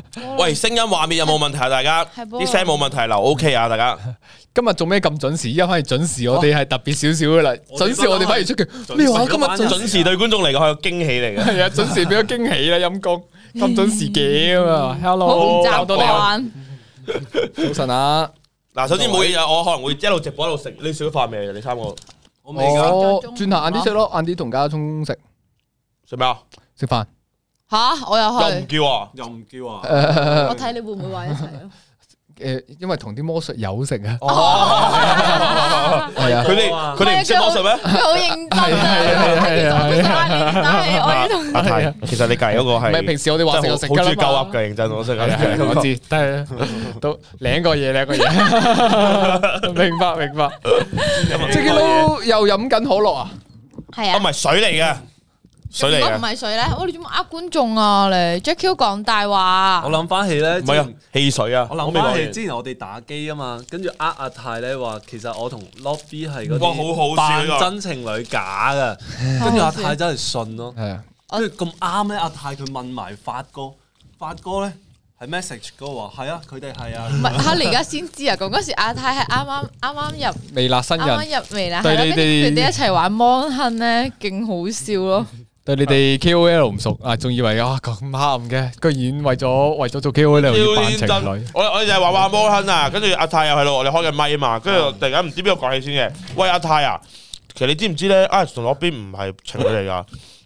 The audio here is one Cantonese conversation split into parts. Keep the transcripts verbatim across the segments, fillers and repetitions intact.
喂，聲音畫面有冇問題啊？大家啲聲冇問題留 OK 啊？大家今日做咩咁準時？依家反而準時，我哋係特別少少噶啦。準時我哋反而出嘅咩話？今日準時對觀眾嚟講係個驚喜嚟嘅。 係啊，準時俾咗驚喜啦，陰公咁準時嘅嘛 ？Hello， 好唔習慣。 早晨啊！ 嗱，首先冇嘢，我可能會一路直播一路食。你食咗飯未？你三個我未㗎。轉頭晏啲食咯，晏啲同家聰食食咩啊？ 食飯。 吓，我又去， 又唔叫啊， 又唔叫啊！ 我睇你會唔會話一齊咯？ 誒，因為同啲魔術友食啊。 哦，係啊，佢哋佢哋唔識魔術咩？ 佢好認真啊！ 係啊係啊但係我要同阿泰，其實你隔籬嗰個係， 唔係平時我哋話食就食好中意㗎啦嘛。 鳩噏嘅，認真我識啊， 我知，但係都兩個嘢兩個嘢，明白明白。即係都又飲緊可樂啊？ 係啊， 唔係水嚟嘅。水嚟嘅，如果唔係水咧，我哋做乜呃觀眾啊？你 Jacky 講大話， 我諗翻起咧， 唔係啊，汽水啊， 我諗翻起之前我哋打機啊嘛，跟住呃阿泰咧話，其實我同 Lobby 係嗰啲扮真情侶假嘅，跟住阿泰真係信咯， 係啊， 跟住咁啱咧，阿泰佢問埋發哥，發哥咧係 message 哥話係啊，佢哋係啊， 唔係嚇你而家先知啊！講嗰時阿泰係啱啱啱啱入微辣新人， 啱啱入微辣， 對你哋佢哋一齊玩 Mon Hun 咧，勁好笑咯。 對你哋 K O L 唔熟啊，仲以為啊咁啱嘅，居然為咗為咗做 K O L 要扮情侶。 我我哋就係玩玩摩亨啊，跟住阿泰又係咯，我哋開緊咪啊嘛，跟住突然間唔知邊個講起先嘅。喂阿泰啊，其實你知唔知咧？Alex 同嗰邊唔係情侶嚟噶。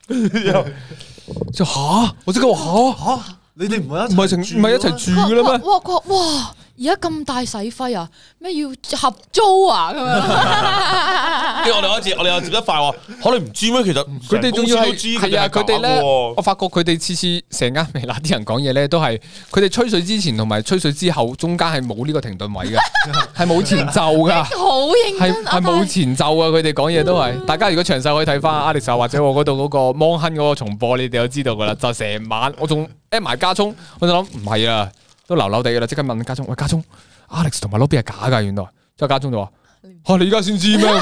就吓，我即刻話吓吓， 你哋唔係唔係情唔係一齊住嘅啦咩？ 哇哇哇！而家咁大使費啊？咩要合租啊？咁樣， 跟住我哋開始，我哋又接得快喎。可能唔知咩？其實佢哋仲要係係啊！佢哋咧， 我發覺佢哋次次成間微辣啲人講嘢咧，都係佢哋吹水之前同埋吹水之後，中間係冇呢個停頓位嘅，係冇前奏噶， 好認真， 係冇前奏啊！佢哋講嘢都係。大家如果詳細可以睇翻 Alex 或者我嗰度嗰個 Mon Hun 嗰個重播，你哋都知道噶啦。就成晚我仲 at 埋家聰，我就諗唔係啊。都流流地噶啦，即刻問家聰，喂家聰 ，Alex 同埋 Lobby 係假噶，原來，之後家聰就話，吓你而家先知咩？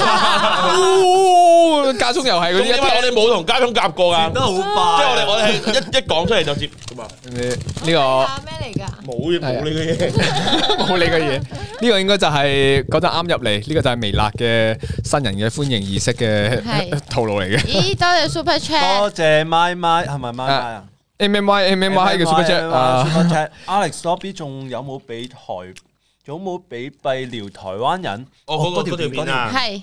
家聰又係嗰啲， 因為我哋冇同家聰夾過噶， 都好快， 即係我哋我哋係一一講出嚟就接咁啊。 呢個咩嚟噶？ 冇冇你嘅嘢， 冇你嘅嘢，呢個應該就係嗰陣啱入嚟，呢個就係微辣嘅新人嘅歡迎儀式嘅套路嚟嘅。 咦，多謝 Super Chat， 多謝咪咪，係咪咪咪啊？ M M Y M M Y 嘅 Super Chat 啊 ，Super Chat，Alex Lobby 仲有冇俾台，有冇俾閉聊台灣人？ 哦，嗰嗰條片啊， 係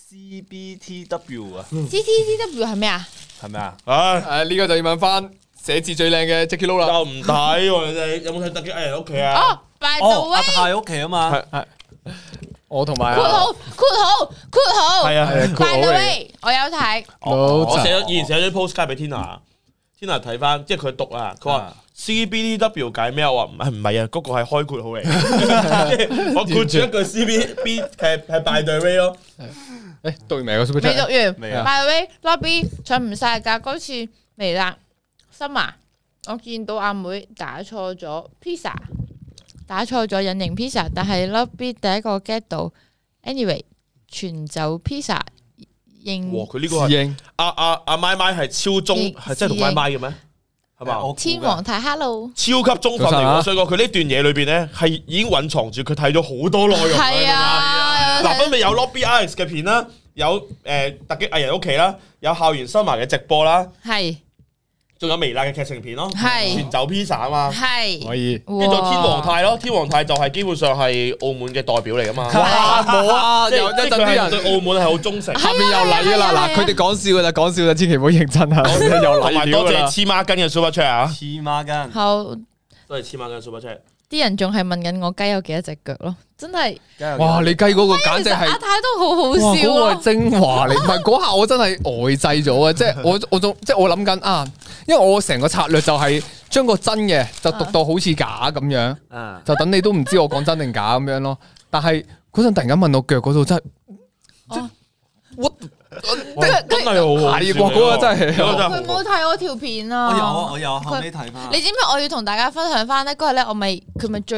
C B T W 啊 ，C T T W 係咩啊？ 係咪啊？ 唉， 誒呢個就要問翻寫字最靚嘅 Jacky Lou 啦。 又唔睇喎，你哋有冇睇特級藝人屋企啊？ 哦，by the 哦，阿 way， 泰屋企啊嘛， 係係，我同埋括號括號括號， 係啊係啊 ，by the way，我有睇， 我寫咗以前寫咗 postcard 俾 Tina。Tina 睇翻，即係佢讀啊，佢話 C B T W 解咩？我話唔係唔係啊，嗰個係開括號嚟。我括住一句 C B B 係係 by the way 咯。 誒讀完未個 Super 未 Chat？ 讀完未啊 ，by the way，Lobby 上唔晒㗎，嗰次微辣Summer，我見到阿妹打錯咗 pizza，打錯咗隱形 pizza，但係 Lobby 第一個 get 到 ，anyway 全走 pizza。 哇！佢呢個係阿阿阿咪咪係超中，係真係同咪咪嘅咩？係嘛？ 天王太 hello， 超級中分嚟，我想講佢呢段嘢裏邊咧係已經隱藏住佢睇咗好多內容。 係啊， 嗱，分別有 Lobby Alex 嘅片啦，有誒突擊藝人屋企啦，有校園新聞嘅直播啦， 係， 仲有微辣嘅劇情片咯， 係全走 pizza 啊嘛， 係可以。 跟住仲有天王泰咯，天王泰就係基本上係澳門嘅代表嚟噶嘛。 哇冇啊！有一陣啲人對澳門係好忠誠。 下面又嚟噶啦，嗱佢哋講笑噶咋，講笑就千祈唔好認真啊！又同埋嚟多謝黐孖筋嘅 Super Chat 啊！ 黐孖筋， 好， 多謝黐孖筋 Super Chat。 啲人仲係問緊我雞有幾多隻腳咯，真係， 哇！你計嗰個簡直係阿太都好好笑哇！嗰個咯係，精華嚟，唔係嗰下我真係呆滯咗啊！即係我我仲即係我諗緊啊，因為我成個策略就係將個真嘅就讀到好似假咁樣， 啊， 就等你都唔知我講真定假咁樣咯。但係嗰陣突然間問我腳嗰度真係，我真係好好笑係喎，嗰個真係。 佢冇睇我條片啊， 我有啊，我有後尾睇翻。 你知唔知我要同大家分享翻咧？嗰日咧我咪佢咪醉咗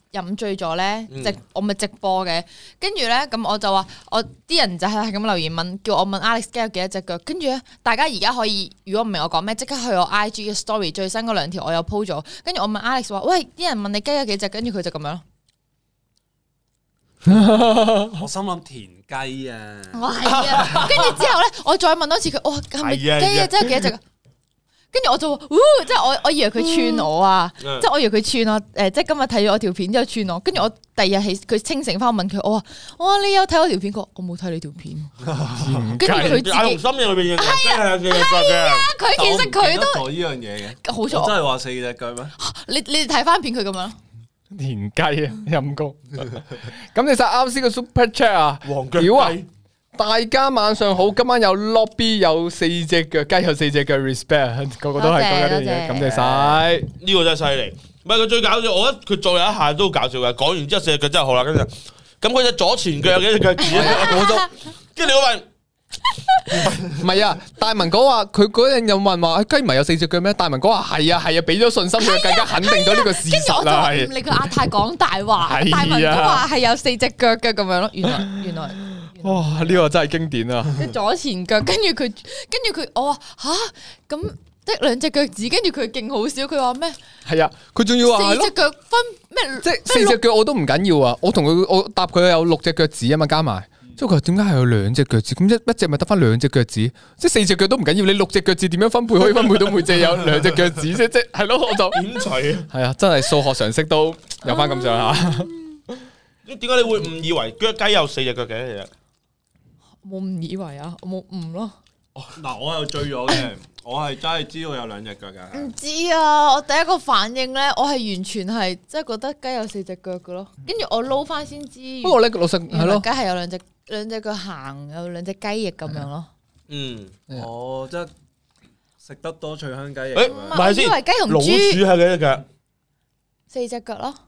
飲醉咗咧， 嗯直我咪直播嘅，跟住咧咁我就話我啲人就係咁留言問，叫我問 Alex 雞有幾多隻腳，跟住咧大家而家可以如果唔明我講咩，即刻去我 I G 嘅 story 最新嗰兩條我有 po 咗，跟住我問 Alex 話，喂，啲人問你雞有幾隻，跟住佢就咁樣咯。 我心諗田雞啊， 我係啊，跟住之後咧，我再問多次佢，哇，係咪雞啊？真係幾多隻？跟住我就話，即係我我以為佢串我啊，即係我以為佢串我，誒，即係今日睇咗我條片之後串我，跟住我第二日起佢清醒翻，我問佢，我話，哇，你有睇我條片？佢話我冇睇你條片，跟住佢自己阿紅心入邊嘅係啊，係啊，佢其實佢都呢樣嘢嘅， 好錯， 真係話四隻腳咩？ 你你哋睇翻片佢咁樣。 田雞啊，陰公。咁你晒啱先個 super chat 啊， 黃腳屌啊！大家晚上好，今晚有 lobby 有四隻腳，雞有四隻腳 respect， 個個都係講緊啲嘢，感謝晒。 呢個真係犀利。唔係佢最搞笑，我覺得佢做有一下都好搞笑嘅。講完之後四隻腳真係好啦，跟住咁佢隻左前腳有幾隻腳趾啊？我都跟住你問。 唔係啊，大文哥話佢嗰陣又問話雞唔係有四隻腳咩？大文哥話係啊係啊，俾咗信心佢，更加肯定咗呢個事實啦。 跟住我就唔理佢阿太講大話，大文哥話係有四隻腳嘅咁樣咯。原來原來哇，呢個真係經典啊！ 即左前腳，跟住佢跟住佢，我話吓咁得兩隻腳趾，跟住佢勁好笑，佢話咩？ 係啊，佢仲要話四隻腳分咩？ 即係四隻腳我都唔緊要啊！我同佢我答佢有六隻腳趾啊嘛，加埋。即係佢話點解係有兩隻腳趾？咁一一隻咪得翻兩隻腳趾？即係四隻腳都唔緊要，你六隻腳趾點樣分配可以分配到每隻有兩隻腳趾啫？即係係咯，我就點除啊？ 係啊，真係數學常識都有翻咁上下。 點解你會誤以為腳雞有四隻腳嘅？其實冇誤以為啊，我冇誤咯。 嗱，我又醉咗嘅，我係真係知道有兩隻腳嘅。 唔知啊，我第一個反應咧，我係完全係即係覺得雞有四隻腳嘅咯，跟住我撈翻先知。 不過咧，老實係咯， 雞係有兩隻兩隻腳行，有兩隻雞翼咁樣咯。 嗯， 哦，即係食得多脆香雞翼。 誒， 唔係先，以為雞同老鼠豬係幾隻腳？ 四隻腳咯，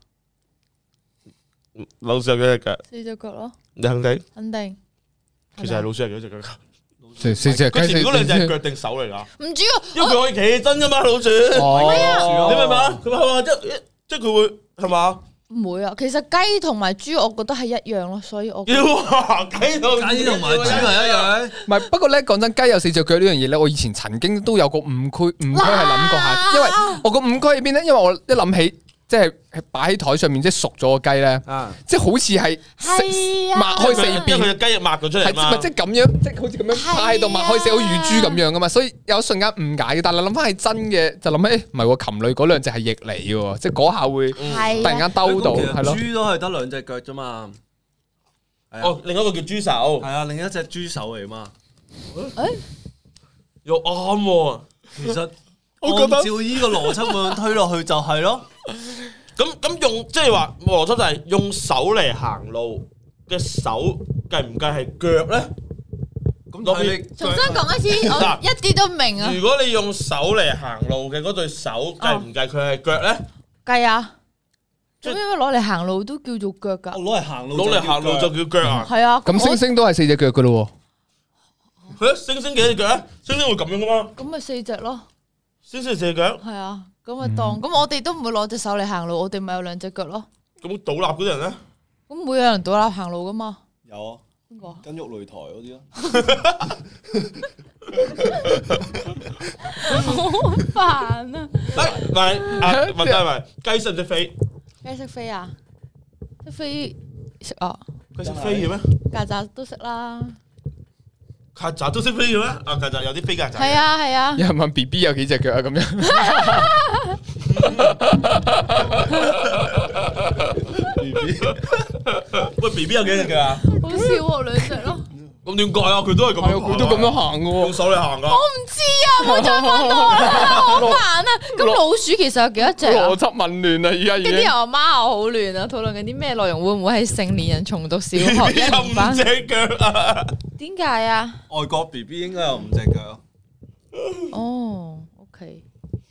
老鼠有幾隻腳？ 四隻腳咯， 你肯定？ 肯定。 其實係老鼠係幾隻腳？ 四四隻雞。 佢前嗰兩隻係腳定手嚟㗎？ 唔知啊， 因為佢可以企起身㗎嘛，老鼠。 哦， 你明唔明啊？佢係嘛？即即係佢會係嘛？ 唔會啊，其實雞同埋豬，我覺得係一樣咯，所以我要話雞同雞同埋豬係一樣。 唔係，不過咧講真，雞有四隻腳呢樣嘢咧，我以前曾經都有個誤區，誤區係諗過下，因為我個誤區喺邊咧？因為我一諗起。即係擺喺台上面，即係熟咗個雞咧，即係好似係擘開四邊， 佢隻雞翼擘咗出嚟嘛， 係即係咁樣，即係好似咁樣趴喺度擘開四，好似乳豬咁樣噶嘛，所以有一瞬間誤解嘅。但係諗翻係真嘅，就諗起唔係喎，禽類嗰兩隻係翼嚟嘅，即係嗰下會突然間兜到，係咯。 豬都係得兩隻腳啫嘛。 哦，另一個叫豬手， 係啊，另一隻豬手嚟嘛。 誒， 又啱喎。 其實我覺得照依個邏輯咁樣推落去就係咯。 咁咁用即係話邏輯就係用手嚟行路嘅手計唔計係腳咧？ 咁睇你重新講一次，我一啲都唔明啊！ 如果你用手嚟行路嘅嗰對手計唔計佢係腳咧？ 計啊！做咩攞嚟行路都叫做腳㗎？ 攞嚟行路， 攞嚟行路就叫腳啊！ 係啊！ 咁星星都係四隻腳㗎咯喎。係啊，星星幾隻腳啊？星星會咁樣㗎嘛？ 咁咪四隻咯。 星星四隻腳。 係啊。咁咪當咁，我哋都唔會攞隻手嚟行路，我哋咪有兩隻腳咯。 咁倒立嗰啲人咧？ 咁會有人倒立行路噶嘛？ 有啊， 邊個？ 跟喐擂台嗰啲咯。 好煩啊！ 唔係啊，問題係雞識唔識飛？ 雞識飛啊？識飛識啊？ 佢識飛嘅咩？ 曱甴都識啦。 曱甴都識飛嘅咩？啊，曱甴有啲飛曱甴。 係啊係啊。 有人問 B B 有幾隻腳啊？咁樣。 B B， 喂 B B 有幾隻腳啊？ 好少喎，兩隻咯。 咁點解啊？佢都係咁樣， 佢都咁樣行嘅喎， 用手嚟行噶。 我唔知啊，冇再問我啦，好煩啊！咁老鼠其實有幾多隻啊？ 邏輯紊亂啊！而家已經。 跟啲人話媽我好亂啊，討論緊啲咩內容？會唔會係成年人重讀小學一年班？ 五隻腳啊？ 點解啊？ 外國 B B 應該有五隻腳。 哦 ，OK。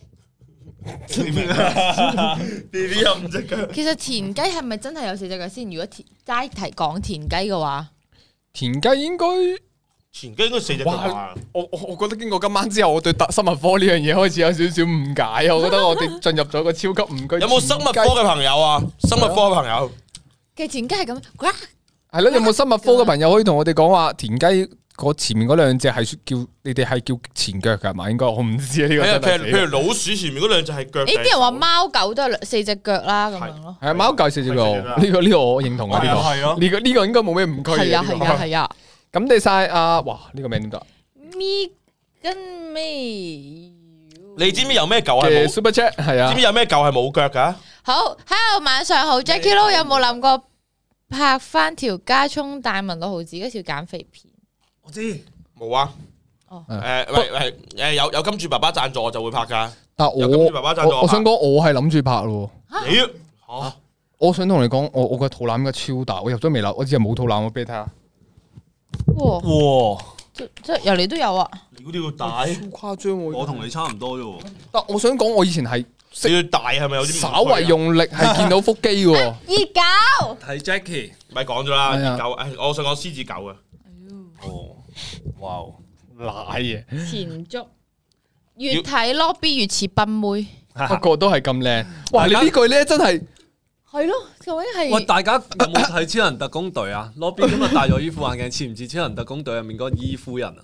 B B 有五隻腳。 其實田雞係咪真係有四隻腳先？如果田齋提講田雞嘅話， 田雞應該前機應該四隻腳啊！ 我我我覺得經過今晚之後，我對生物科呢樣嘢開始有少少誤解啊！我覺得我哋進入咗個超級誤區。 有冇生物科嘅朋友啊？生物科嘅朋友嘅田雞係咁， 係咯？有冇生物科嘅朋友可以同我哋講話田雞？嗰前面嗰兩隻係叫你哋係叫前腳㗎嘛？應該我唔知啊呢個。 譬如譬如老鼠前面嗰兩隻係腳。 誒啲人話貓狗都係四隻腳啦咁樣咯。 係啊，貓狗四隻腳，呢個呢個我認同啊呢個。 係啊， 呢個呢個應該冇咩誤區。 係啊係啊係啊。 咁你晒啊！哇呢個名點讀？ 咪跟咩？ 你知唔知有咩狗係冇 Super Chat 係啊？ 知唔知有咩狗係冇腳㗎？ 好，Hello 晚上好 ，Jackie Lou 有冇諗過拍翻條加葱大文六毫子嗰條減肥片？ 我知。 冇啊！ 哦， 誒喂喂誒有有金主爸爸贊助我就會拍㗎。 但我我想講我係諗住拍咯。 你嚇？ 我想同你講，我我個肚腩應該超大，我入咗微辣，我只係冇肚腩，我俾你睇下。 哇哇！ 即即由你都有啊？ 你嗰啲要大， 超誇張喎！ 我同你差唔多啫喎。 但我想講，我以前係你要大係咪有啲？ 稍為用力係見到腹肌喎。 熱狗睇 Jackie， 咪講咗啦，熱狗誒，我想講獅子狗啊。 哦，哇！ 奶嘢， 前足越睇 lobby 越似賓妹， 不過都係咁靚。哇！你呢句咧真係係咯，究竟係喂，大家有冇睇超人特工隊啊？Lobby 今日戴咗依副眼鏡，似唔似超人特工隊入面嗰個伊夫人啊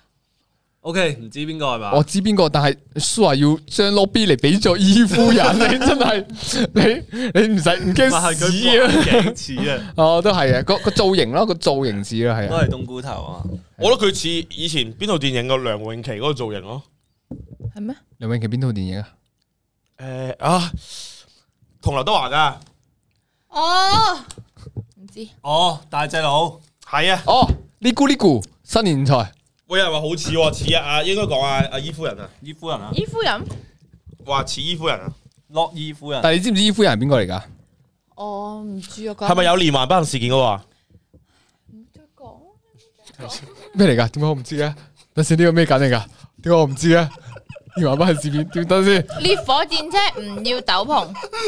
？OK， 唔知邊個係嘛？ 我知邊個，但係蘇話要將 lobby 嚟俾咗伊夫人，你真係你你唔使唔驚屎啊！ 似啊！ 哦，都係啊，個個造型咯，個造型似咯，係啊， 都係冬菇頭啊！ 我覺得佢似以前邊套電影個梁詠琪嗰個造型咯。 係咩？ 梁詠琪邊套電影啊？ 誒啊，同劉德華㗎。 哦，唔知哦，大隻佬係啊。 哦，呢咕呢咕新年財。 喂，有人話好似喎，似啊啊，應該講啊阿伊夫人啊， 伊夫人啊， 伊夫人， 話似伊夫人啊。 洛伊夫人。 但係你知唔知伊夫人係邊個嚟㗎？ 我唔知啊。 係咪有連環不幸事件嗰個啊？ 唔再講咩嚟㗎？點解我唔知嘅？等先，呢個咩揀嚟㗎？點解我唔知嘅？連環不幸事件點等先？ 烈火戰車唔要斗篷。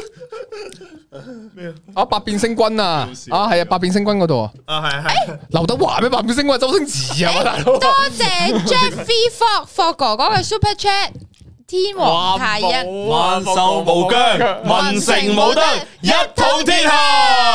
咩啊？ 啊，百變星君啊！啊，係啊，百變星君嗰度啊。 啊係係。 劉德華咩？百變星君係周星馳啊嘛，大佬。 多謝 Jeffy Fog Fog 哥哥嘅 Super Chat， 天王太一， 萬壽無疆， 文成武德，一統天下。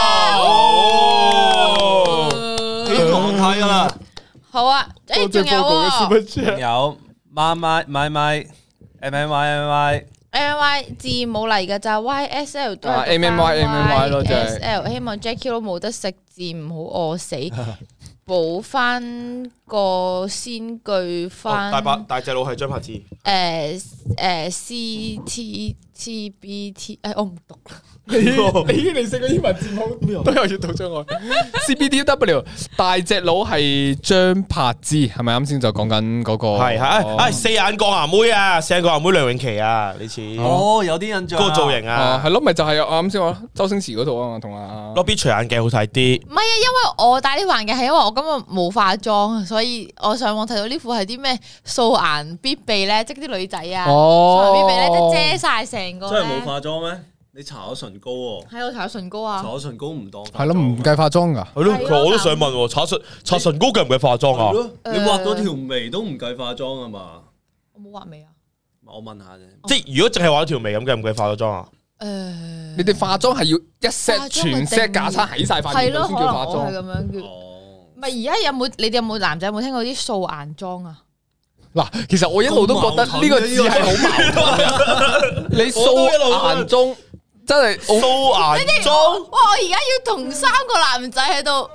天王太噶啦。 好啊，誒仲有喎， 仲有媽媽買買 M M Y M Y M Y 字母嚟嘅就 Y S L 都係 M M Y M M Y 咯，就係 S L。希望 Jackie 都冇得食字，唔好餓死，補翻個先句翻。 大把大隻佬係張柏芝。 誒誒 C T T B T，誒我唔讀啦。 你你你識個英文字母都有閱讀障礙。C B T W 大隻佬係張柏芝，係咪啱先就講緊嗰個？ 係係係四眼鋼牙妹啊，四眼鋼牙妹梁詠琪啊，你似哦，有啲印象。 嗰個造型啊， 係咯，咪就係我啱先話周星馳嗰套啊嘛，同阿 Lobby 除眼鏡好睇啲。 唔係啊，因為我戴呢副眼鏡係因為我今日冇化妝，所以我上網睇到呢副係啲咩素顏必備咧，即係啲女仔啊，素顏必備咧，即係遮晒成個。 真係冇化妝咩？你搽咗唇膏喎？ 係我搽咗唇膏啊！ 搽咗唇膏唔當係咯，唔計化妝㗎。 係咯，其實我都想問喎，搽唇搽唇膏計唔計化妝啊？ 你畫咗條眉都唔計化妝啊嘛？ 我冇畫眉啊！ 我問下啫。 即係如果淨係畫咗條眉咁，計唔計化咗妝啊？ 誒， 你哋化妝係要一 set 全 set 架撐喺晒塊面度先叫化妝。 係咁樣叫。 哦。 唔係而家有冇？你哋有冇男仔有冇聽過啲素顏妝啊？ 嗱，其實我一路都覺得呢個字係好矛盾。你素顏妝真係素顏妝。 哇！我而家要同三個男仔喺度。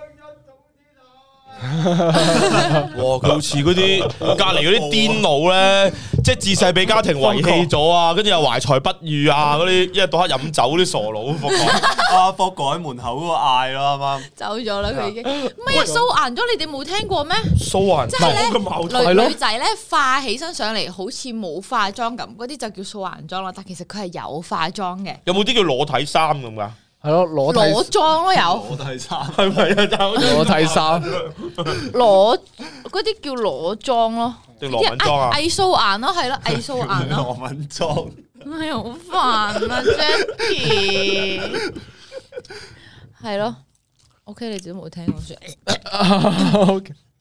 哇！佢好似嗰啲隔籬嗰啲癲佬咧，即係自細俾家庭遺棄咗啊，跟住又懷才不遇啊，嗰啲一日到黑飲酒嗰啲傻佬，霍哥阿霍哥喺門口嗰個嗌咯，啱啱走咗啦，佢已經。唔係啊，素顏妝你哋冇聽過咩？ 素顏即係咁矛盾咧，女女仔咧化起身上嚟好似冇化妝咁，嗰啲就叫素顏妝啦。但其實佢係有化妝嘅。 有冇啲叫裸體衫咁噶？ 係咯，裸裸妝咯有。 裸體衫係咪啊？ 裸體衫， 裸嗰啲叫裸妝咯。 定羅敏妝啊？ 偽素顏咯，係咯，偽素顏咯。 羅敏妝。 哎呀，好煩啊 ，Jackie。係咯 ，OK，你自己冇聽過算。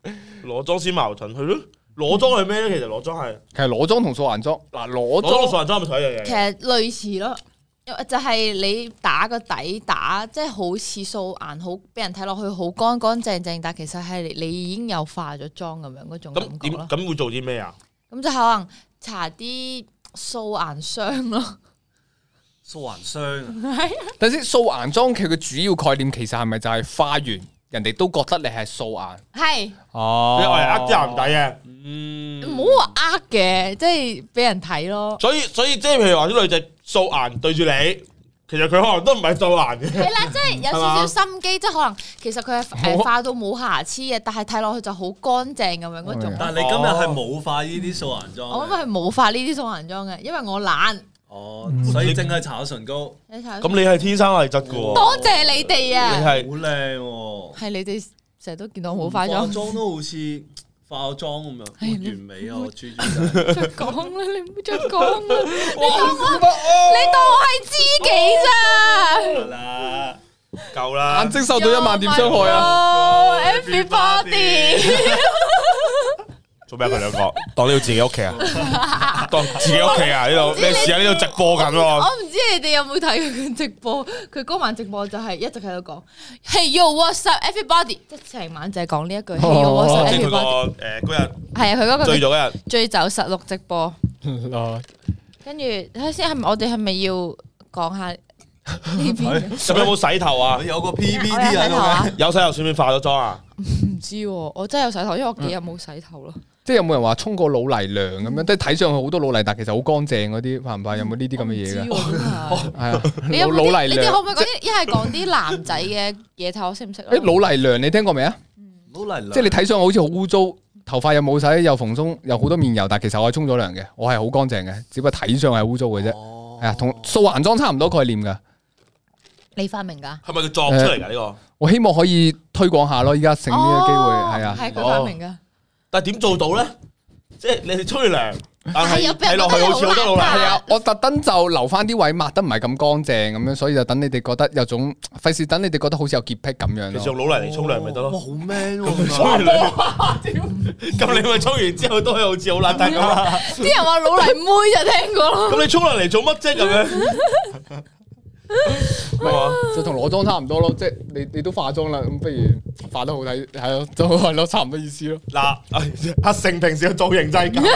裸妝先矛盾，係咯？裸妝係咩咧？其實裸妝係其實裸妝同素顏妝嗱，裸裸妝同素妝顏妝係咪同一樣嘢？ 其實類似咯，就係你打個底打，即係好似素顏，好俾人睇落去好乾乾淨淨，但其實係你已經有化咗妝咁樣嗰種感咁點覺咯。 咁會做啲咩啊？ 咁就可能搽啲素顏霜咯。 素顏霜， 但係先素顏妝佢嘅主要概念其實係咪就係化完人哋都覺得你係素顏？ 係哦， 你係呃啲人唔抵嘅。 嗯， 唔好話呃嘅，即係俾人睇咯。 所以所以即係譬如話啲女仔素顏對住你，其實佢可能都唔係素顏嘅。 係啦，即係有少少心機，即係可能其實佢係誒化到冇瑕疵嘅，但係睇落去就好乾淨咁樣嗰種。 但係你今日係冇化呢啲素顏妝。 我因為冇化呢啲素顏妝嘅，因為我懶。 哦，所以淨係搽唇膏。 咁你係天生麗質嘅喎。 多謝你哋啊！ 你係好靚喎。 係你哋成日都見到我冇化化妝。 妝都好似化咗妝咁樣，完美啊！我豬豬仔。 再講啦，你唔好再講啦！你當我你當我係知己咋？ 啦，夠啦。 眼睛受到一萬點傷害啊 ！Everybody。 做咩佢兩個當呢度自己屋企啊？當自己屋企啊？呢度咩事啊？呢度直播緊喎。 我唔知你哋有冇睇佢直播？佢嗰晚直播就係一直喺度講 Hey yo what's up everybody， 即係成晚就係講呢一句 Hey yo what's up 即係佢個 everybody。 誒嗰日係啊，佢嗰個醉咗嗰日。 醉酒實錄直播。跟住睇下先，係咪我哋係咪要講下呢邊？ 咁有冇洗頭啊？ 有個 P P T 我有洗喺度頭啊咩？ 有洗頭算唔算化咗妝啊？ 唔知喎，我真係有洗頭，因為我幾日冇洗頭咯。 即係有冇人話沖過老泥涼咁樣？即係睇上去好多老泥，但其實好乾淨嗰啲，怕唔怕？有冇呢啲咁嘅嘢㗎？係啊， 你有冇老啲？ 泥涼你哋可唔可以講啲？一係講啲男仔嘅嘢睇我識唔識？ 誒老泥涼你聽過未啊？ 老泥涼。 即係你睇上去好似好污糟，頭髮又冇洗，又蓬鬆，又好多面油，但其實我係沖咗涼嘅，我係好乾淨嘅，只不過睇上係污糟嘅啫。係啊，同素顏妝差唔多概念㗎。 你發明㗎？ 係咪佢作出嚟㗎呢個？ 我希望可以推廣下咯，依家剩呢個機會係啊。 係佢發明㗎。 但係點做到咧？即係你哋沖完涼，但係係睇落去好似好多老泥。 係啊，我特登就留翻啲位抹得唔係咁乾淨咁樣，所以就等你哋覺得有種費事，等你哋覺得好似有潔癖咁樣咯。 其實用老泥嚟沖涼咪得哇， 咯。 好 man 喎！ 沖完涼，咁你咪沖完之後都係好似好邋遢咁啦。 啲人話老泥妹就聽過咯。 咁你沖涼嚟做乜啫？咁樣就同裸妝差唔多咯，即係你你都化妝啦，咁不如化得好睇，係咯，就係咯，差唔多意思咯。 嗱，阿成平時嘅造型真係咁，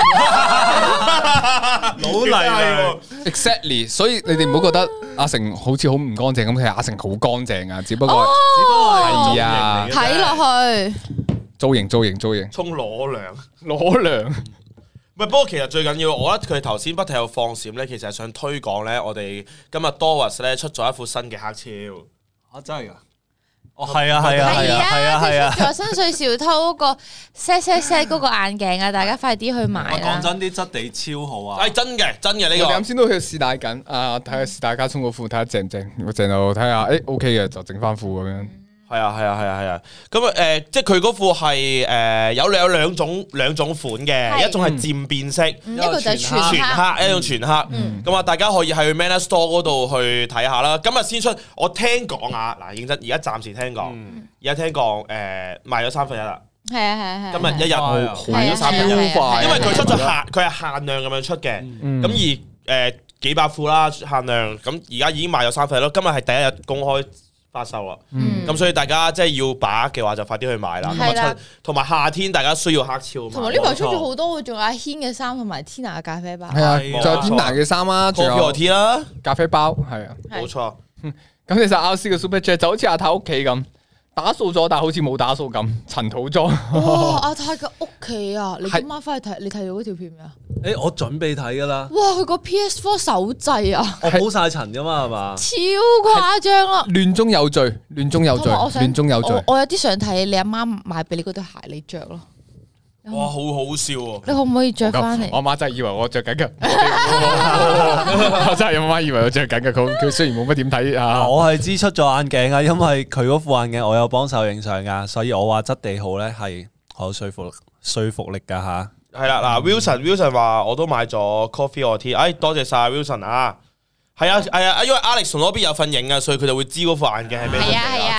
老泥涼。 Exactly， 所以你哋唔好覺得阿成好似好唔乾淨咁，其實阿成好乾淨啊，只不過只不過係係啊睇落去， 造型造型造型沖裸涼。 裸涼。 唔係，不過其實最緊要，我覺得佢頭先不停有放閃咧，其實係想推廣咧，我哋今日 Doris 咧出咗一副新嘅黑超。 啊，真係㗎！哦，係啊，係啊，係啊，係啊，係啊！ 佢出咗新水小偷嗰個 set set set 嗰個眼鏡啊，大家快啲去買啦！ 講真，啲質地超好啊！ 係真嘅，真嘅呢我哋啱個。 先都去試戴緊，啊睇下試大家沖個褲睇下正唔正，我正就睇下，誒 OK 嘅就整翻褲咁樣。 係啊係啊係啊係啊，咁啊誒，即係佢嗰副係誒有有兩種兩種款嘅， 係一種係漸變色， 嗯一個就係全全黑， 黑，一種全黑。咁啊，大家可以喺 Manner Store 嗰度去睇下啦。今日先出，我聽講啊，嗱認真，而家暫時聽講，而家聽講誒賣咗三分一啦。 係啊係啊係啊！ 今日一日好賣咗三分一， 係啊係啊因為佢出咗限，佢係限量咁樣出嘅。咁而誒幾百副啦，限量，咁而家已經賣咗三分一咯。今日係第一日公開發售啦，咁所以大家即係要把握嘅話，就快啲去買啦。 係啦， 同埋夏天大家需要黑超嘛。 同埋呢排出咗好多，仲有阿軒嘅衫同埋 Tina 嘅咖啡包。 係啊， 係啊仲有天娜嘅衫啦，仲 Coffee or 有 tea 啦， 咖啡包，係啊。 冇錯。 咁其實阿 C 嘅 Super Chat 就好似阿太屋企咁，打掃咗，但係好似冇打掃咁，塵土裝。 哇！阿泰嘅屋企啊，你今晚翻去睇，你睇到嗰條片未啊？ 誒，我準備睇㗎啦， 哇！佢個 P S Four 手掣啊， 我鋪晒塵㗎嘛，係嘛？ 超誇張啊！ 亂中有序，亂中有序， 同埋我想亂中有序。 我我有啲想睇你阿媽買俾你嗰對鞋，你着咯。 哇，好好笑喎！ 你可唔可以着翻嚟？ 我媽真係以為我着緊㗎，我真係我媽以為我着緊㗎。佢佢雖然冇乜點睇啊， 我係支出咗眼鏡啊，因為佢嗰副眼鏡我有幫手影相㗎，所以我話質地好咧係好有說服說服力㗎吓。 係啦，嗱，Wilson Wilson 話我都買咗 Coffee or tea，哎，多謝晒 Wilson 啊！係啊係啊，因為 Alex 同嗰邊有份影啊，所以佢就會知嗰副眼鏡係咩。 係啊係啊，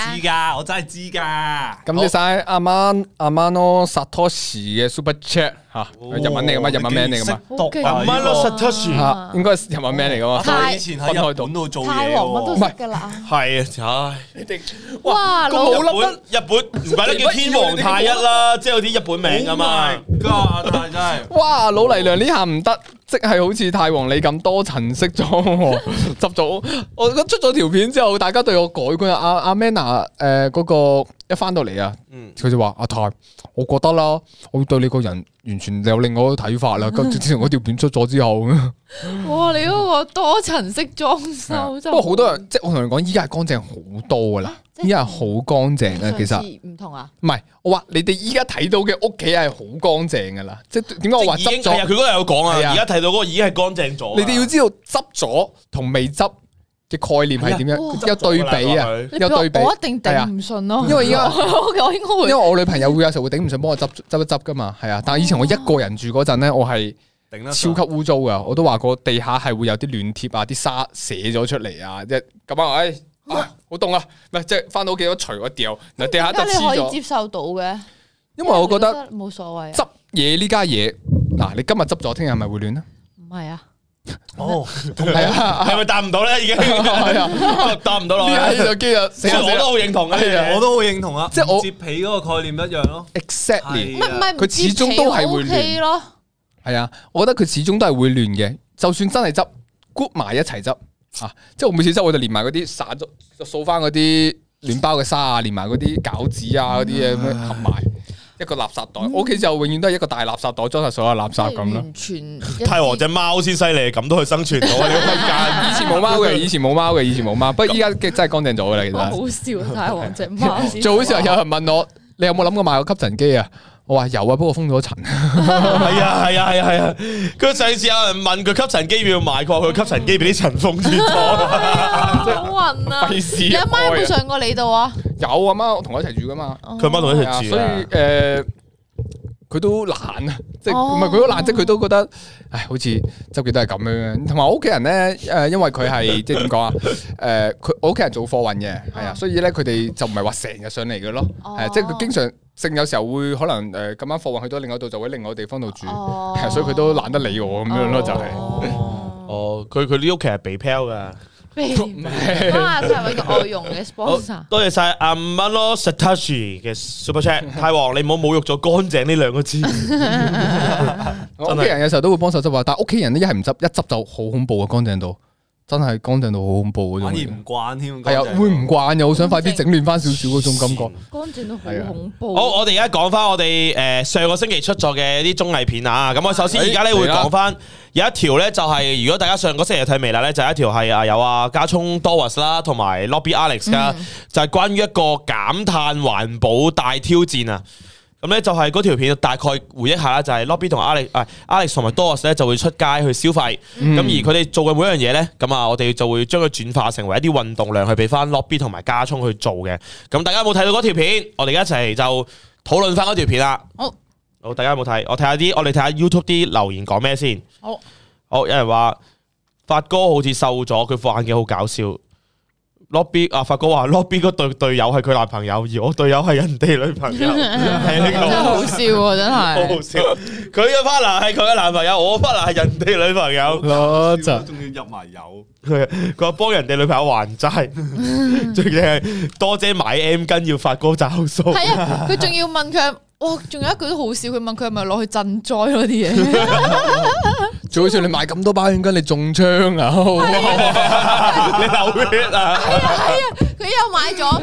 知㗎，我真係知㗎。 咁你晒阿媽阿媽咯 Satoshi 嘅 Super Chat 嚇，日文嚟噶嘛？日文名嚟噶嘛？ 阿媽咯 Satoshi 嚇，應該係日文名嚟噶嘛？ 太以前喺日本度做嘢太皇乜都識㗎啦。 係啊，唉，你哋哇，老日本日本唔怪得叫天皇太一啦，即係有啲日本名噶嘛。 God，真係哇，老泥娘呢下唔得，即係好似太皇你咁多層式裝喎，執咗我出咗條片之後，大家對我改觀啊！阿阿 Manna 誒嗰個一翻到嚟啊，佢就話阿太，我覺得啦，我對你個人完全有另外一個睇法啦。咁自從嗰條片出咗之後， 哇！你嗰個多層式裝修， 不過好多人即係我同你講，依家係乾淨好多噶啦，依家係好乾淨啊。其實唔同啊， 唔係我話你哋依家睇到嘅屋企係好乾淨噶啦，即係點解我話執咗？ 係啊，佢嗰日有講啊，而家睇到嗰個已經係乾淨咗。 你哋要知道執咗同未執嘅概念係點樣，有對比啊，有對比。 我一定頂唔順咯， 因為而家我應該會， 因為我女朋友會有時候會頂唔順幫我執執一執噶嘛，係啊。但係以前我一個人住嗰陣咧，我係超級污糟噶，我都話過地下係會有啲亂貼啊，啲沙瀉咗出嚟啊，即係咁啊，唉，好凍啊，唔係即係翻到屋企都除咗掉，嗱地下就黐咗。 你可以接受到嘅， 因為我覺得冇所謂。 執嘢呢家嘢，嗱你今日執咗，聽日係咪會亂啊？ 唔係啊。 哦， 係啊， 係咪答唔到咧？已經係啊， 答唔到咯。 呢下就機啊， 我都好認同嘅， 我都好認同啊。 即係我摺被嗰個概念一樣咯。 Exactly， 唔係唔係， 佢始終都係會亂咯。 係啊，我覺得佢始終都係會亂嘅。就算真係執 group 埋一齊執啊，即係我每次執我就連埋嗰啲散咗，就掃翻嗰啲亂包嘅沙啊，連埋嗰啲餃子啊嗰啲嘢咁樣合埋。一個垃圾袋，我屋企就永遠都係一個大垃圾袋裝晒所有垃圾咁咯。 完全太皇隻貓先犀利，咁都可以生存到啊！呢個空間以前冇貓嘅，以前冇貓嘅，以前冇貓，不過依家真係乾淨咗噶啦。其實好笑，太皇隻貓。 最好笑有人問我，你有冇諗過買個吸塵機啊？我話有啊，不過封咗塵。 係啊係啊係啊係啊！佢上次有人問佢吸塵機要唔要買，佢話佢吸塵機俾啲塵封住咗。 好暈啊！ 費事。 你阿媽有冇上過你度啊？ 有阿媽，我同我一齊住噶嘛。 佢阿媽同我一齊住， 所以誒，佢都懶啊，即係唔係佢都懶，即係佢都覺得，唉，好似周記都係咁樣。同埋我屋企人咧，誒，因為佢係即係點講啊？誒，佢我屋企人做貨運嘅，係啊，所以咧佢哋就唔係話成日上嚟嘅咯，係即係佢經常性有時候會可能誒咁啱貨運去到另外度，就喺另外地方度住，係所以佢都懶得理我咁樣咯，就係。 哦，佢佢呢屋企係被拋噶。 啊！係咪個外傭嘅 sponsor？ 多謝晒阿蚊咯 Satoshi 嘅 Super Chat。太皇，你唔好侮辱咗乾淨呢兩個字。 我屋企人有時候都會幫手執啊，但係屋企人咧一係唔執，一執就好恐怖啊！乾淨到真係乾淨到好恐怖嗰種。 反而唔慣添。 係啊，會唔慣又好想快啲整亂翻少少嗰種感覺。 乾淨到好恐怖。 好，我哋而家講翻我哋誒上個星期出咗嘅啲綜藝片啊。咁我首先而家咧會講翻。有一條咧就係如果大家上個星期睇微辣咧，就係一條係啊有啊加聰 Doris 啦，同埋 Lobby Alex 噶，就係關於一個減碳環保大挑戰啊！咁咧就係嗰條片大概回憶下啦，就係 Lobby 同 Alex 啊 Alex 同埋 Doris 咧就會出街去消費，咁、嗯、而佢哋做嘅每一樣嘢咧，咁啊我哋就會將佢轉化成為一啲運動量去俾翻 Lobby 同埋加聰去做嘅。咁大家有冇睇到嗰條片？我哋一齊就討論翻嗰條片啦。好。好，大家有冇睇？我睇下啲，我哋睇下 YouTube 啲留言講咩先。好，好，有人話發哥好似瘦咗，佢副眼鏡好搞笑。Lobby 啊，發哥話 Lobby 嗰對隊友係佢男朋友，而我隊友係人哋女朋友，係呢個真係好笑喎，真係好好笑。佢嘅 partner 係佢嘅男朋友，我 partner 係人哋女朋友。 攞就仲要入埋油。 佢佢話幫人哋女朋友還債，最緊係多姐買 M 巾要發哥找數。 係啊，佢仲要問佢。哇！仲有一句都好笑，佢問佢係咪攞去賑災嗰啲嘢？ 最好笑你買咁多包煙巾，你中槍啊！ 你流血啊！ 係啊係啊，佢又買咗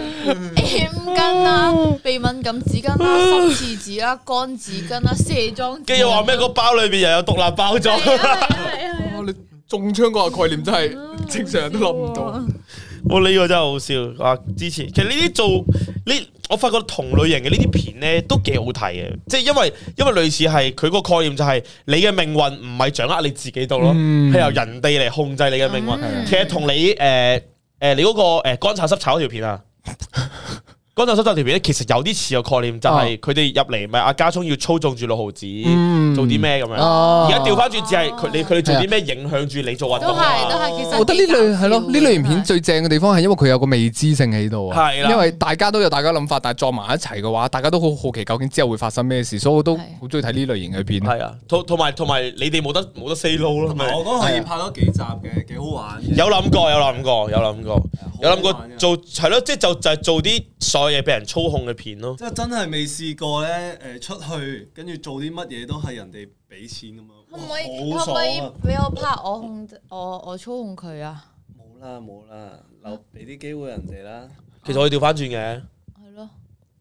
M 巾啦、鼻敏感紙巾啦、濕廁紙啦、乾紙巾啦、卸妝紙。 跟住話咩？個包裏邊又有獨立包裝。 係啊係啊！ 你中槍嗰個概念真係正常人都諗唔到。 我呢個真係好笑啊！之前其實呢啲做呢，我發覺同類型嘅呢啲片咧都幾好睇嘅，即係因為因為類似係佢個概念就係你嘅命運唔係掌握你自己度咯，係、嗯、由人哋嚟控制你嘅命運。嗯、其實同你誒誒、呃、你嗰個誒乾炒濕炒嗰條片啊， 乾就濕就條片咧，其實有啲似個概念，就係佢哋入嚟咪阿家聰要操縱住六毫子做啲咩咁樣。而家調翻轉，只係佢你佢哋做啲咩影響住你做運動。 都係都係，其實我覺得呢類係咯，呢類型片最正嘅地方係因為佢有個未知性喺度啊。 係啦， 因為大家都有大家諗法，但係撞埋一齊嘅話，大家都好好奇究竟之後會發生咩事，所以我都好中意睇呢類型嘅片。 係啊，同同埋同埋你哋冇得冇得 say no 咯。 我覺得可以拍多幾集嘅，幾好玩嘅。 有諗過，有諗過，有諗過，有諗過做係咯，即係就就係做啲所有嘢俾人操控嘅片咯。 即係真係未試過咧，誒出去跟住做啲乜嘢都係人哋俾錢咁樣。 可唔可以好可唔可以爽啊！ 俾我拍我控制我我操控佢啊？ 冇啦冇啦，留俾啲機會人哋啦。 其實我哋調翻轉嘅。 係咯。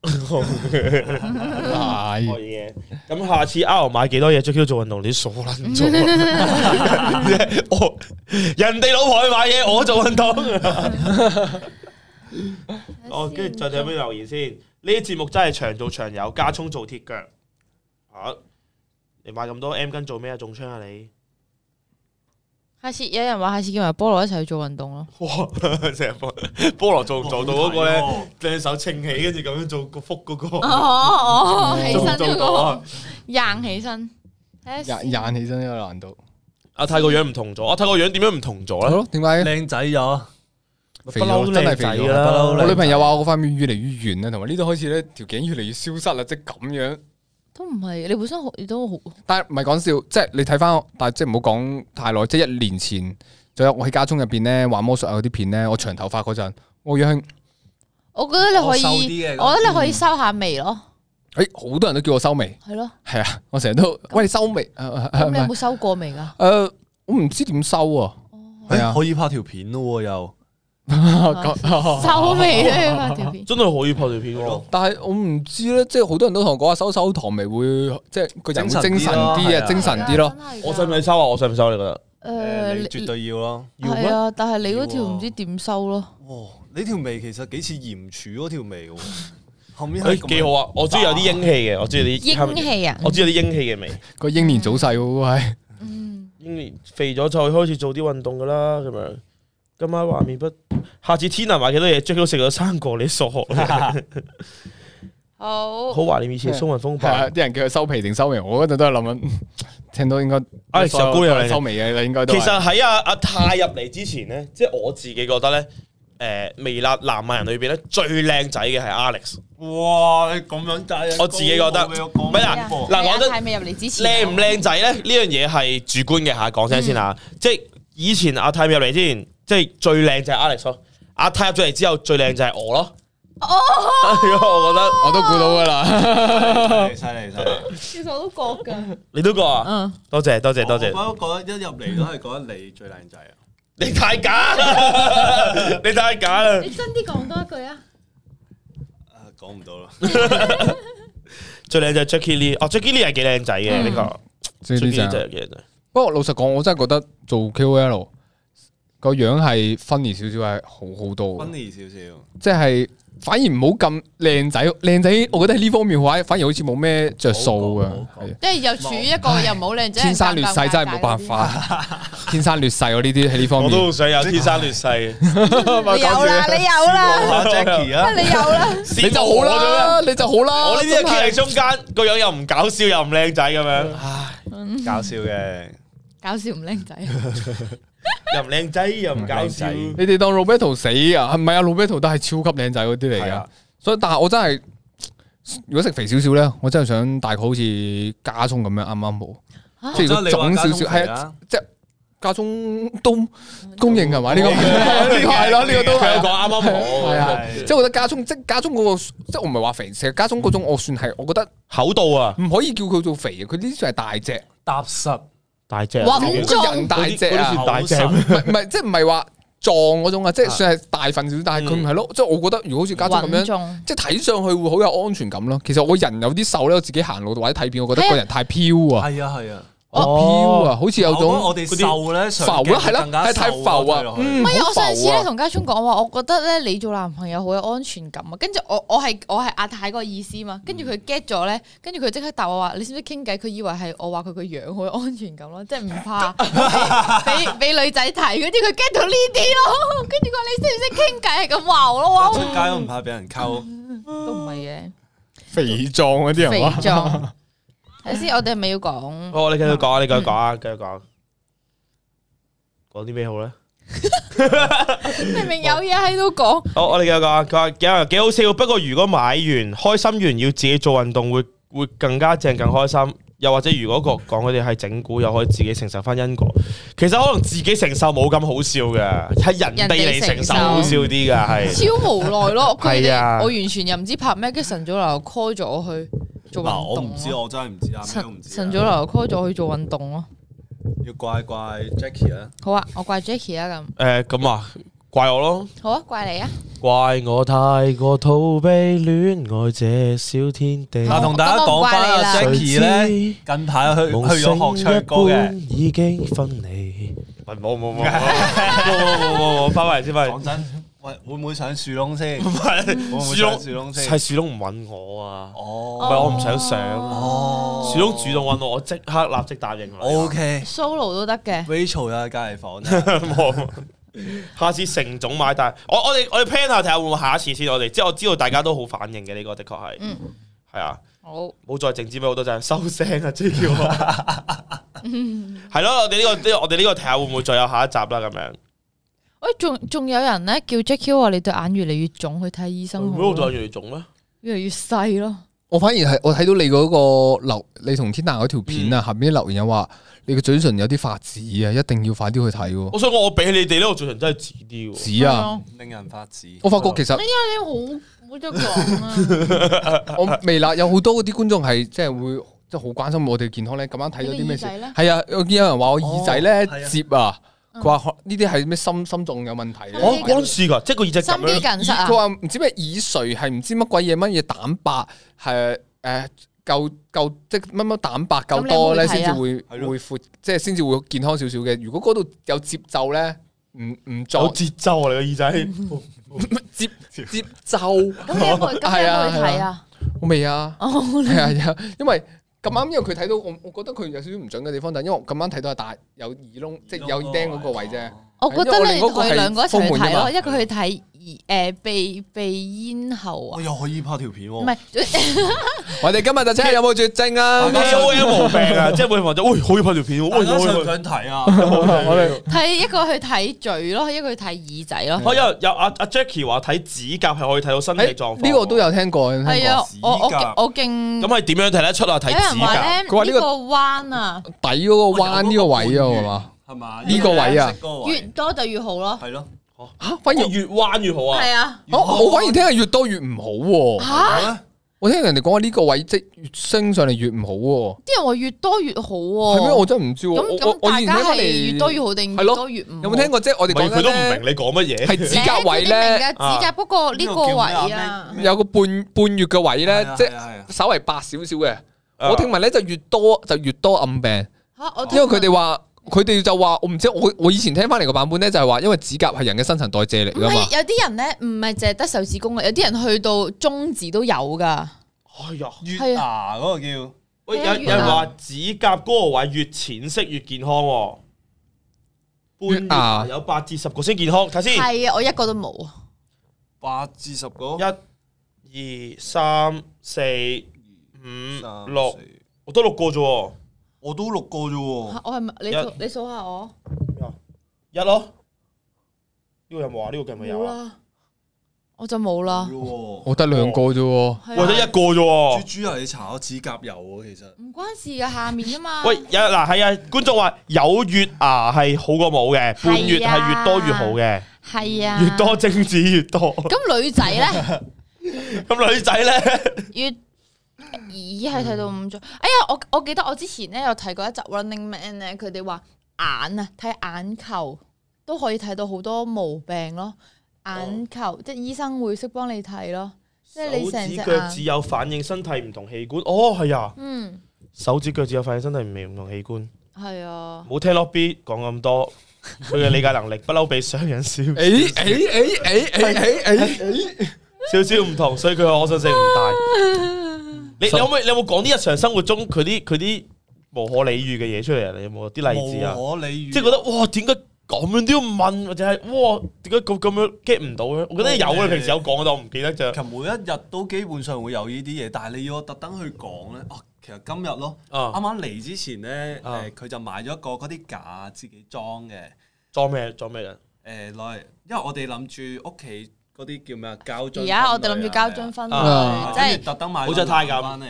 係可以嘅。咁下次 R 買幾多嘢 Jacky 做運動，你傻撚做。我人哋老婆去買嘢，我做運動。哦，跟住再睇有咩留言先。呢啲節目真係長做長有，加葱做鐵腳。嚇！你買咁多 M 巾做咩啊？中槍啊你！ 下次有人話下次叫埋菠蘿一齊去做運動咯。 哇！成日菠菠蘿做唔做到嗰個咧？兩手撐起，跟住咁樣做個腹嗰個。 哦哦，起身做唔嗰做到啊個，硬起身。 廿廿起身呢個難度。 阿泰個樣唔同咗，阿泰個樣點樣唔同咗咧？ 點解？ 靚仔咗， 肥咗真係肥咗啦！ 我女朋友話我塊面越嚟越圓啦，同埋呢度開始咧條頸越嚟越消失啦，即係咁樣。 都唔係，你本身好，你都好。 但係唔係講笑，即係你睇翻，但係即係唔好講太耐，即係一年前，仲有我喺家中入邊咧玩魔術啊嗰啲片咧，我長頭髮嗰陣，我樣， 我覺得你可以，我覺得你可以收下眉咯。 誒，好多人都叫我收眉， 係咯， 係啊，我成日都喂你收眉， 咁你有冇收過眉噶？ 誒，我唔知點收啊，係啊， 可以拍條片咯又。 收眉咧拍條片， 真係可以拍條片喎。 但係我唔知咧，即係好多人都同我講話收收糖眉會，即係個人會精神啲啊，精神啲咯。 我使唔使收啊？我使唔收你覺得？ 誒， 你絕對要咯。 係啊，但係你嗰條唔知點收咯。 哇！你條眉其實幾似鹽柱嗰條眉喎。後面誒幾好啊！我中意有啲英氣嘅，我中意啲英氣啊！ 我中意有啲英氣嘅眉。 個英年早逝嗰個係。 嗯。英年肥咗就開始做啲運動噶啦，咁樣。今晚畫面不，下次天啊買幾多嘢，Jacky都食咗三個，你傻？ 好。 好懷念以前鬆雲風暴。 啲人叫佢收皮定收眉，我嗰陣都係諗緊，聽到應該。 啊，石姑娘收眉嘅，應該都。 其實喺阿阿泰入嚟之前咧，即係我自己覺得咧，誒微辣男藝人裏邊咧最靚仔嘅係 Alex。 哇！你咁樣仔， 我自己覺得，唔係嗱嗱講真， 泰未入嚟之前， 靚唔靚仔咧？呢樣嘢係主觀嘅嚇，講聲先嚇。即係以前阿泰未入嚟之前，即係最靚就係 Alex 咯。阿泰入咗嚟之後，最靚就係我咯。哦，我覺得我都估到噶啦， 犀利犀利。 其實我都覺噶， 你都覺啊？嗯，多謝多謝多謝。 我都覺得一入嚟都係覺得你最靚仔啊！ 你太假，你太假啦！ 你真啲講多一句啊！ 講唔到啦。 最靚就係 Jacky Lee，哦 Jacky Lee 係幾靚仔嘅呢個 ，Jacky Lee 真係幾靚仔。不過老實講，我真係覺得做 K O L 個樣係 funny 少少係好好多。 funny 少少， 即係反而唔好咁靚仔，靚仔我覺得喺呢方面話，反而好似冇咩着數啊。 即係又處於一個又唔好靚仔， 天生劣勢真係冇辦法，天生劣勢我呢啲喺呢方面。 我都好想有天生劣勢。 你有啦，你有啦 ，Jacky 啊， 你有啦， 你就好啦，你就好啦。 我呢啲企喺中間，個樣又唔搞笑又唔靚仔咁樣，唉， 搞笑嘅， 搞笑唔靚仔。 又唔靚仔又唔搞笑， 你哋當 Roberto 死啊？係咪啊 Roberto 都係超級靚仔嗰啲嚟噶，所以但係我真係如果食肥少少咧，我真係想大概好似家聰咁樣啱啱好，即係如果腫少少係啊，即係家聰都公認係嘛？呢個係咯，呢個都係講啱啱好， 係啊，即係我覺得家聰即係家聰嗰個，即係我唔係話肥，其實家聰嗰種我算係，我覺得厚度啊， 唔可以叫佢做肥嘅，佢呢啲算係大隻踏實。 大隻， 穩重， 人大隻啊， 大隻， 唔係唔係，即係唔係話壯嗰種啊，即係算係大份少少，但係佢唔係咯，即係我覺得如果好似家聰咁樣，即係睇上去會好有安全感咯。其實我人有啲瘦咧，我自己行路或者睇片，我覺得個人太飄啊， 係啊係啊。 飄啊，好似有種我哋瘦咧， 浮啦，係啦，係太浮啊。 唔係，我上次咧同家聰講話，我覺得咧你做男朋友好有安全感啊。跟住我我係我係阿太嗰個意思嘛。跟住佢 get 咗咧，跟住佢即刻答我話：你識唔識傾偈？佢以為係我話佢個樣好有安全感咯，即係唔怕俾俾女仔睇嗰啲。佢 get 到呢啲咯。跟住佢話你識唔識傾偈係咁話我咯。 出街都唔怕俾人溝。 肥壯嗰啲肥人壯。睇先，我哋係咪要講？ 哦，你繼續講啊，你繼續講啊，繼續講。講啲咩好咧？ 明明有嘢喺度講。 好，我哋繼續講啊。佢話幾幾好笑，不過如果買完開心完要自己做運動，會會更加正，更開心。又或者如果個講佢哋係整蠱，又可以自己承受翻因果。其實可能自己承受冇咁好笑嘅，係人哋嚟承受好笑啲㗎，係。 超無奈咯，佢係啊哋我完全又唔知拍咩，跟住晨早流流 call 咗我去做運動。 我唔知，我真係唔知啊，咩都唔知。 晨早流流 call 咗我去做運動咯。 要怪怪 Jackie 啊！ 好啊，我怪 Jackie 啊咁。 誒咁啊，怪我咯。 好啊，怪你啊。 怪我太過逃避戀愛這小天地。 嗱，同大家講翻阿 Jackie 咧，近排去去咗學唱歌嘅， 已經分離。喂，冇冇冇冇冇冇冇，翻返嚟先，翻嚟。 講真，喂，會唔會上樹窿先？ 唔係會唔會上樹窿先？ 係樹窿唔揾我啊！ 哦， 唔係我唔想上。 哦， 樹窿主動揾我，我即刻立即答應佢。 O K solo 都得嘅。 Rachel 有隔離房， 冇。下次成總買，但係我我哋我哋 plan 下睇下會唔會下一次先。我哋即係我知道大家都好反應嘅，呢個的確係。 嗯。 係啊。 好。 冇再靜止俾好多陣，收聲啊！J Q。係咯，我哋呢個我哋呢個睇下會唔會再有下一集啦咁樣。 喂，仲仲有人咧叫 Jackie 話你對眼越嚟越腫，去睇醫生好。 咩對眼越嚟越腫咩？ 越嚟越細咯。 我反而係我睇到你嗰個留，你同天娜嗰條片啊，下邊啲留言有話你個嘴唇有啲發紫啊，一定要快啲去睇。 我想講，我比起你哋呢個嘴唇真係紫啲。 紫啊， 令人發紫。 我發覺其實， 哎呀，你好冇得講啊！ 我未啦，有好多嗰啲觀眾係即係會即係好關心我哋健康咧。咁啱睇到啲咩事？係啊，我見有人話我耳仔咧接啊。佢話呢啲係咩心心臟有問題咧？ 我嗰陣時㗎，即係個耳仔咁樣。 心肌梗塞啊！ 佢話唔知咩耳垂係唔知乜鬼嘢乜嘢蛋白係誒夠夠即係乜乜蛋白夠多咧，先至會會闊，即係先至會健康少少嘅。如果嗰度有節奏咧，唔唔做有節奏啊！你個耳仔節節奏。 咁你有冇咁有冇去睇啊？ 我未啊，係啊，因為。咁啱，因為佢睇到我，我覺得佢有少少唔準嘅地方，但係因為我咁啱睇到係大有耳窿，即係有耳釘嗰個位啫。 我覺得你佢兩個一齊去睇咯，一個去睇誒鼻鼻咽喉啊。 我又可以拍條片喎。 唔係， 我哋今日就睇下有冇絕症啊？ 有有毛病啊！即係會話咗，喂，可以拍條片喎。 大家想唔想睇啊？ 我哋睇一個去睇嘴咯，一個去睇耳仔咯。 我有有阿阿 Jackie 話睇指甲係可以睇到身體狀況。 呢個都有聽過。 係啊，我我我勁。 咁係點樣睇得出啊？睇指甲。 佢話呢個彎啊， 底嗰個彎呢個位啊，係嘛？ 係嘛？ 呢個位啊， 越多就越好咯。 係咯。 嚇，反而越彎越好啊。 係啊。 我我反而聽係越多越唔好喎。 嚇！ 我聽人哋講話呢個位即越升上嚟越唔好喎。 啲人話越多越好喎。 係咩？我真係唔知喎。 咁咁大家係越多越好定越多越唔好？ 有冇聽過即係我哋講佢都唔明你講乜嘢。 係指甲位咧， 指甲不過呢個位啊， 有個半半月嘅位咧，即係稍微白少少嘅。我聽聞咧就越多就越多暗病。 嚇！我因為佢哋話。佢哋就話我唔知，我我以前聽翻嚟個版本咧，就係話因為指甲係人嘅新陳代謝嚟噶嘛。 有啲人咧唔係淨係得手指公嘅，有啲人去到中指都有噶。 哎呀， 月牙嗰個叫， 喂有有人話指甲嗰個位越淺色越健康喎。半牙有八至十個先健康，睇先。 係啊，我一個都冇啊。 八至十個。 一、二、三、四、五、六，我得六個啫喎。 我都六個啫喎， 我係咪你數你數下我一咯，呢個有冇啊？呢個計咪有啊？ 我就冇啦， 我得兩個啫喎， 我得一個啫喎。 豬豬啊，你搽咗指甲油喎，其實唔關事噶，下面啊嘛。 喂，有嗱係啊，觀眾話有月牙係好過冇嘅，半月係越多越好嘅， 係啊， 越多精子越多。 咁女仔咧？ 咁女仔咧？ 越咦係睇到五種，哎呀我我記得我之前咧有睇過一集 Running Man 咧，佢哋話眼啊睇眼球都可以睇到好多毛病咯，眼球、哦、即係醫生會識幫你睇咯，即係你成隻眼手指腳趾有反應身體唔同器官，哦係啊， 嗯， 手指腳趾有反應身體唔同器官， 係啊， 冇聽 Lobby 講咁多，佢嘅理解能力不嬲比商人少，誒誒誒誒誒誒誒， 少少唔同，所以佢嘅可信性唔大。你有冇你有冇講啲日常生活中佢啲佢啲無可理喻嘅嘢出嚟啊？你有冇啲例子啊？ 無可理喻， 即係覺得哇，點解咁樣都要問，或者係哇點解咁咁樣 get 唔到咧？我覺得有啊，平時有講，但我唔記得啫。 其實每一日都基本上會有呢啲嘢，但係你要我特登去講咧，哦，其實今日咯，啱啱嚟之前咧，誒佢就買咗一個嗰啲架自己裝嘅， 裝咩裝咩嘅？ 誒攞嚟，因為我哋諗住屋企嗰啲叫咩啊膠樽， 而家我哋諗住膠樽分類，即係特登買好似太咁翻嚟。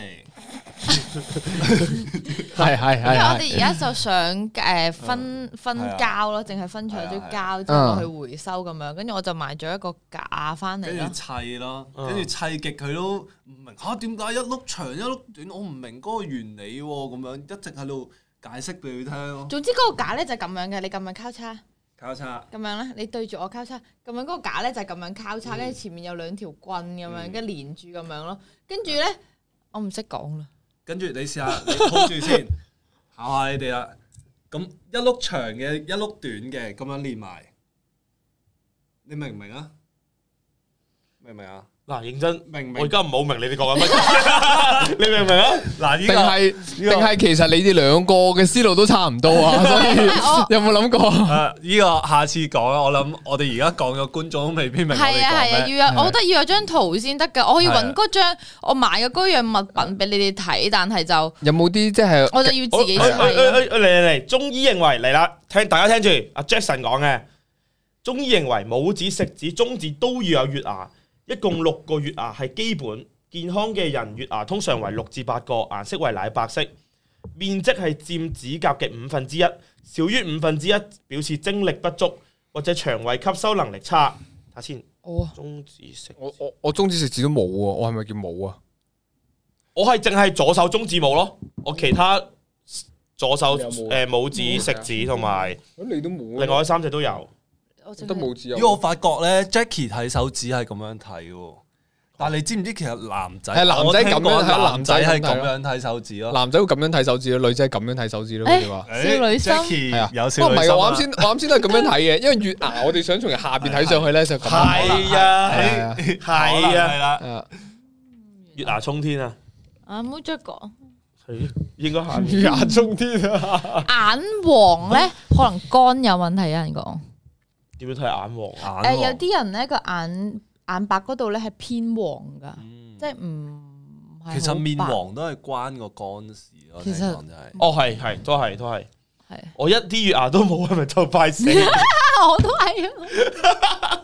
係係係。 因為我哋而家就想誒分分膠咯，淨係分除咗膠之後去回收咁樣，跟住我就買咗一個架翻嚟咯。 跟住砌咯，跟住砌極佢都唔明嚇點解一碌長一碌短，我唔明嗰個原理喎，咁樣一直喺度解釋俾佢聽咯。 總之嗰個架咧就係咁樣嘅，你咁樣交叉。 交叉咁樣咧，你對住我交叉，咁樣嗰個架咧就係咁樣交叉，跟住前面有兩條棍咁樣，跟住連住咁樣咯。跟住咧，我唔識講啦。 跟住你試下，你 hold 住先，考下你哋啦。咁一碌長嘅，一碌短嘅，咁樣連埋，你明唔明啊？明唔明啊？ 嗱，認真， 明唔明？ 我而家唔好明你哋講緊乜，你明唔明啊？嗱， 定係定係其實你哋兩個嘅思路都差唔多啊，所以有冇諗過？ 誒，呢個下次講啦。我諗我哋而家講嘅觀眾都未必明我哋講咩。 係啊係啊，要有，我覺得要有張圖先得㗎。我可以揾嗰張我買嘅嗰樣物品俾你哋睇，但係就有冇啲即係我就要自己砌。 嚟嚟嚟，中醫認為嚟啦，聽大家聽住阿 Jackson 講嘅，中醫認為拇指、食指、中指都要有月牙。一共六個月牙係基本，健康嘅人月牙通常為六至八個，顏色為奶白色，面積係佔指甲嘅五分之一，少於五分之一表示精力不足或者腸胃吸收能力差。睇下先， 哦， 中指食， 我我我中指食指都冇喎，我係咪叫冇啊？ 我係淨係左手中指冇咯，我其他左手誒拇指、食指同埋， 你都冇， 另外三隻都有。 都冇指有。 因為我發覺咧 ，Jackie 睇手指係咁樣睇喎，但係你知唔知其實男仔係男仔咁樣睇， 男仔係咁樣睇手指咯， 男仔會咁樣睇手指咯，女仔咁樣睇手指咯。佢哋話少女心係啊，有不少女心。 過唔係我啱先，我啱先都係咁樣睇嘅，因為月牙我哋想從下邊睇上去咧就咁。 係啊，係啊， 啊， 月牙衝天啊！ 啊，唔好再講。 係應該下月牙衝天啊！ 眼黃咧，可能肝有問題，有人講。 點樣睇眼黃？ 誒，有啲人咧個眼眼白嗰度咧係偏黃噶，即係唔係。 其實面黃都係關個肝事咯。 其實就係哦，係係都係都係。 係我一啲月牙都冇，係咪就快死？ 我都係啊！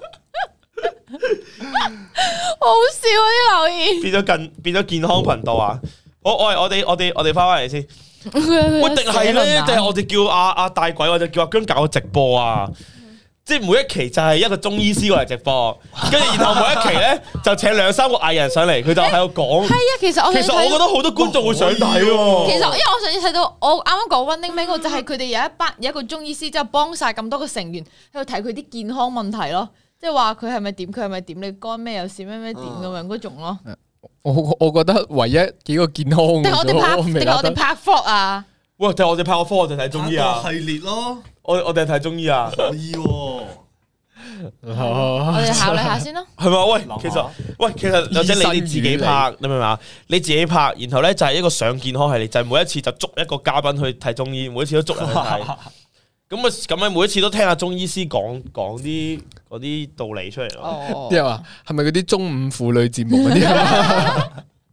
好笑啊啲留言。 變咗近變咗健康頻道啊！好，我我哋我哋我哋翻返嚟先。喂，定係咧？定係我哋叫阿阿大鬼，或者叫阿姜搞個直播啊？即係每一期就係一個中醫師過嚟直播，跟住然後每一期咧就請兩三個藝人上嚟，佢就喺度講。係啊，其實我其實我覺得好多觀眾會想睇喎。 其實因為我上次睇到，我啱啱講 Running Man 嗰個就係佢哋有一班有一個中醫師，之後幫晒咁多個成員喺度睇佢啲健康問題咯，即係話佢係咪點，佢係咪點，你肝咩有事咩咩點咁樣嗰種咯。 我我覺得唯一幾個健康嘅， 定係我哋拍，定係我哋拍 vlog 啊？ 喂，定係我哋拍個科，我哋睇中醫啊？ 系列咯， 我我哋睇中醫啊？ 可以喎。 我哋考慮下先咯。 係嘛？喂，其實喂，其實或者你哋自己拍，你明唔明啊？你自己拍，然後咧就係一個上健康系列，就係每一次就捉一個嘉賓去睇中醫，每一次都捉人去睇。咁啊，咁啊，每一次都聽下中醫師講講啲嗰啲道理出嚟咯。 哦， 啲人話係咪嗰啲中午婦女節目嗰啲啊？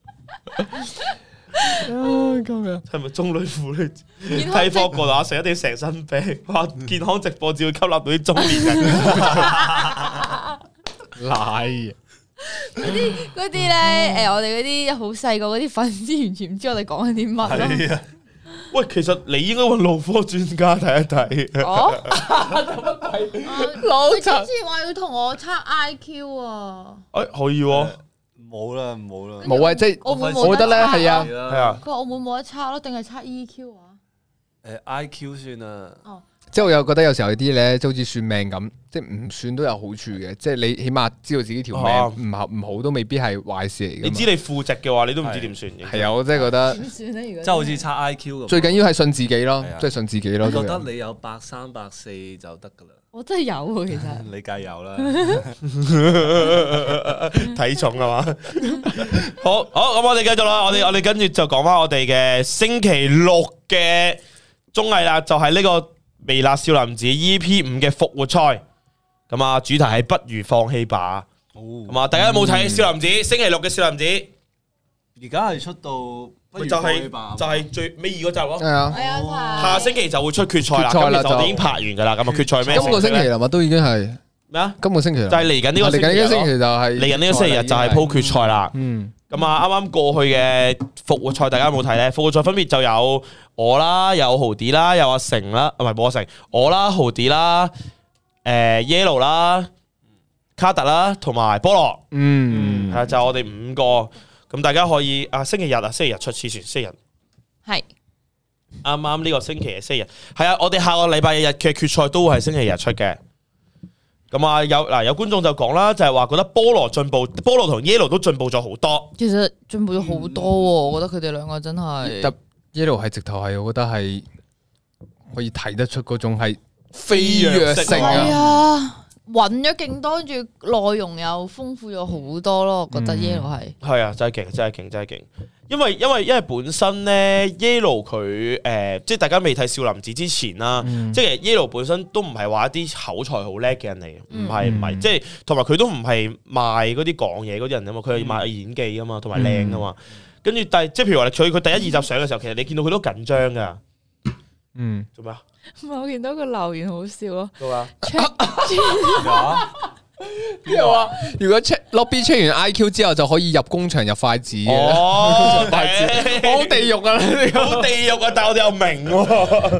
咁樣係咪中女婦女睇科過啦？成一定成身病，哇！健康直播只會吸納到啲中年人。 奶嗰啲嗰啲咧，誒，我哋嗰啲好細個嗰啲粉絲完全唔知我哋講緊啲乜咯。 係啊，喂，其實你應該揾腦科專家睇一睇。 哦，乜鬼？老陳之前話要同我測 I Q 啊。 誒，可以喎。 冇啦，冇啦， 冇啊！即係澳門我覺得咧係啊， 係啊。 佢話澳門冇得測咯，定係測 E Q 啊？ 誒 I Q 算啦。 哦。 即係我又覺得有時候有啲咧，即係好似算命咁，即係唔算都有好處嘅。即係你起碼知道自己條命唔合唔好，都未必係壞事嚟嘅。 你知你負值嘅話，你都唔知點算嘅。 係啊，我真係覺得點算咧？如果即係好似測 I Q 咁。 最緊要係信自己咯，即係信自己咯。 我覺得你有百三百四就得噶啦。 我真係有喎，其實。 你梗係有啦。 體重係嘛？好好，咁我哋繼續啦。我哋我哋跟住就講翻我哋嘅星期六嘅綜藝啦，就係呢個微辣少林寺 E P 五嘅復活賽，咁啊主題係不如放棄吧。咁啊，大家有冇睇少林寺？星期六嘅少林寺， 而家係出到不如就係放棄吧就係最尾二嗰集咯。 係啊， 係啊， 下星期就會出決賽啦。 決賽啦咁其實我哋已經拍完噶啦。咁啊，決賽咩？ 今個星期啦嘛，都已經係咩啊？ 今個星期啦就係嚟緊呢個嚟緊呢個星期期就係嚟緊呢個星期日就係鋪決賽啦。 嗯。 咁啊，啱啱過去嘅復活賽，大家有冇睇咧？復活賽分別就有我啦，有豪迪啦，有阿成啦，唔係冇阿成，我啦，豪迪啦，誒 Yellow 啦，卡特啦，同埋菠蘿， 嗯， 係啊，就係我哋五個。咁大家可以啊，星期日啊，星期日出黐線，星期日係啱啱呢個星期嘅星期日，係啊，我哋下個禮拜日嘅決賽都會係星期日出嘅。咁啊，有嗱有觀眾就講啦，就係話覺得菠蘿進步，菠蘿同 Yellow 都進步咗好多。 其實進步咗好多喎，我覺得佢哋兩個真係。 特 Yellow 係直頭係，我覺得係可以睇得出嗰種係飛躍性係啊！ 啊，揾咗勁多，跟住內容又豐富咗好多咯，我覺得 Yellow 係。 係啊，真係勁，真係勁，真係勁。因為因為因為本身咧 Yellow 佢誒，即係大家未睇少林寺之前啦，即係 Yellow 本身都唔係話一啲口才好叻嘅人嚟嘅，唔係唔係，即係同埋佢都唔係賣嗰啲講嘢嗰啲人啊嘛，佢係賣演技啊嘛，同埋靚啊嘛。跟住第即係譬如話佢佢第一二集上嘅時候，其實你見到佢都緊張噶。 嗯， 做咩啊？ 唔係我見到個留言好笑咯。 做咩啊？ 邊個話如果 check lobby check 完 I Q 之後就可以入工場入筷子嘅？ 哦， 筷子好地獄啊！呢個好地獄啊！但係我哋又明喎，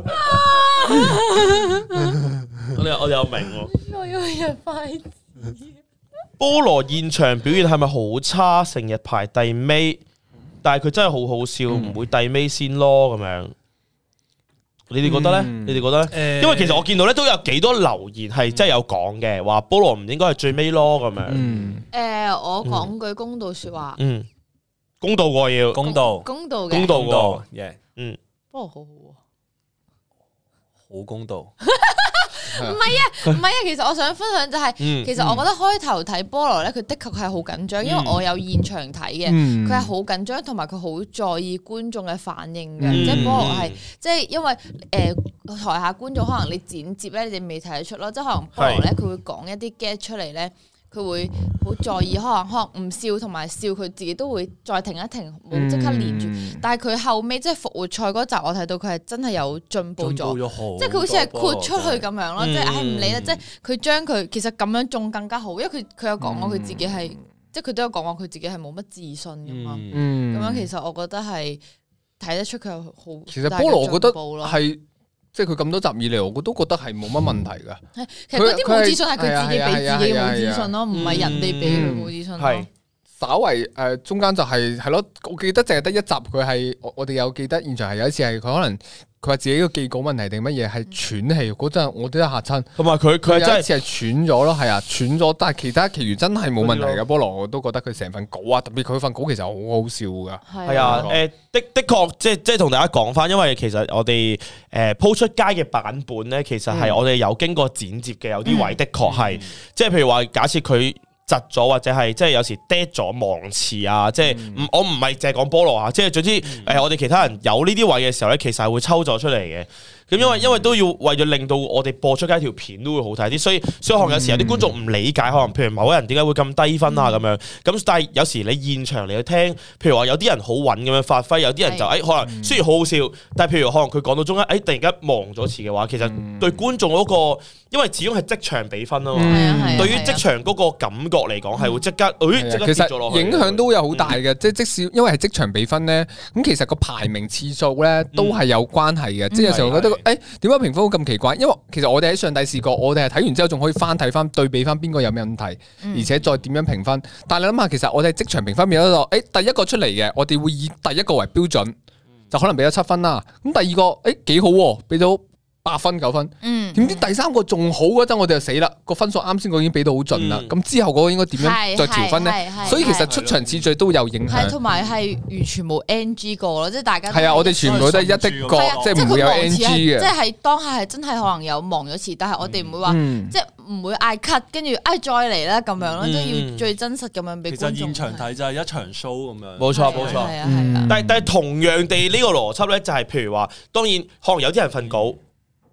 我哋我哋又明喎。 我要入筷子。 菠蘿現場表現係咪好差？成日排第尾，但係佢真係好好笑，唔會第尾先咯咁樣。你哋覺得咧？ 嗯你哋覺得咧？因為其實我見到咧都有幾多留言係真係有講嘅，話菠蘿唔應該係最尾咯咁樣。 嗯， 誒，我講句公道説話。 嗯，公道喎要公道公道嘅。 公道公道喎， 耶， 嗯， 菠蘿好好喎。 好公道。 唔係啊，唔係啊，其實我想分享就係， 嗯其實我覺得開頭睇菠蘿咧，佢的確係好緊張，因為我有現場睇嘅， 嗯佢係好緊張，同埋佢好在意觀眾嘅反應嘅， 嗯即係菠蘿係，即係因為誒台下觀眾可能你剪接咧，你哋未睇得出咯，即係可能菠蘿咧，佢會講一啲 get 出嚟咧。佢會好在意，可能可能唔笑同埋笑，佢自己都會再停一停，冇即刻連住。 嗯但係佢後尾即係復活賽嗰集，我睇到佢係真係有進步咗， 咗即係佢好似係豁出去咁樣咯， 嗯即係唉唔理啦，即係佢將佢其實咁樣仲更加好，因為佢佢有講過佢自己係，即係佢都有講過佢自己係冇乜自信噶嘛。 嗯， 咁樣其實我覺得係睇得出佢有好。 其實菠蘿我覺得係係。即係佢咁多集以嚟，我都覺得係冇乜問題噶。 其實嗰啲冇自信係佢自己佢俾自己嘅冇自係啊係啊係啊信咯，唔係人哋俾佢冇自信咯。 係稍為誒中間就係係咯，我記得淨係得一集佢係我我哋有記得現場係有一次係佢可能佢話自己個記稿問題定乜嘢係喘氣嗰陣，我都一嚇親。 同埋佢佢係真係有一次係喘咗咯，係啊喘咗，但係其他其餘真係冇問題嘅。菠蘿我都覺得佢成份稿啊，特別佢份稿其實好好笑噶。 係啊，誒的的確即係即係同大家講翻，因為其實我哋誒鋪出街嘅版本咧，其實係我哋有經過剪接嘅，有啲位的確係，即係譬如話假設佢窒咗或者係即係有時 dead 咗忘詞啊，即係唔我唔係淨係講菠蘿啊，即係總之誒我哋其他人有呢啲位嘅時候咧，其實係會抽咗出嚟嘅。咁因為因為都要為咗令到我哋播出街條片都會好睇啲，所以所以可能有時有啲觀眾唔理解，可能譬如某個人點解會咁低分啊咁樣。咁但係有時你現場嚟去聽，譬如話有啲人好穩咁樣發揮，有啲人就誒可能雖然好好笑，但係譬如可能佢講到中間誒突然間忘咗詞嘅話，其實對觀眾嗰個，因為始終係即場比分啊嘛。 係啊係啊對於即場嗰個感覺嚟講係會即刻誒即刻其跌咗落去。 實影響都有好大嘅，即係即使因為係即場比分咧，咁其實個排名次數咧都係有關係嘅。即係有時候覺得誒點解評分會咁奇怪？因為其實我哋喺上帝試過，我哋係睇完之後仲可以翻睇翻對比翻邊個有咩問題，而且再點樣評分。但係你諗下，其實我哋即場評分變咗個誒第一個出嚟嘅，我哋會以第一個為標準，就可能俾咗七分啦。咁第二個誒幾好喎，俾到八分九分， 嗯， 點知第三個仲好嗰陣，我哋就死啦！個分數啱先個已經俾到好盡啦，咁之後嗰個應該點樣再調分係係咧？ 係所以其實出場次序都有影響。 係同埋係完全冇 N G 過咯，即係大家都係啊，我哋全部都係一的角係啊， 即係唔會有佢忘 N 詞 G 係即嘅。 係當下係真係可能有忘咗詞，但係我哋唔會話嗯即係唔會嗌 cut，跟住唉再嚟啦咁樣咯， 嗯即係要最真實咁樣俾觀眾。 其實現場睇就係一場 show 咁樣。 冇錯冇錯。 係啊係啊。 嗯但係但係同樣地呢個邏輯咧，就係譬如話，當然可能有啲人瞓稿。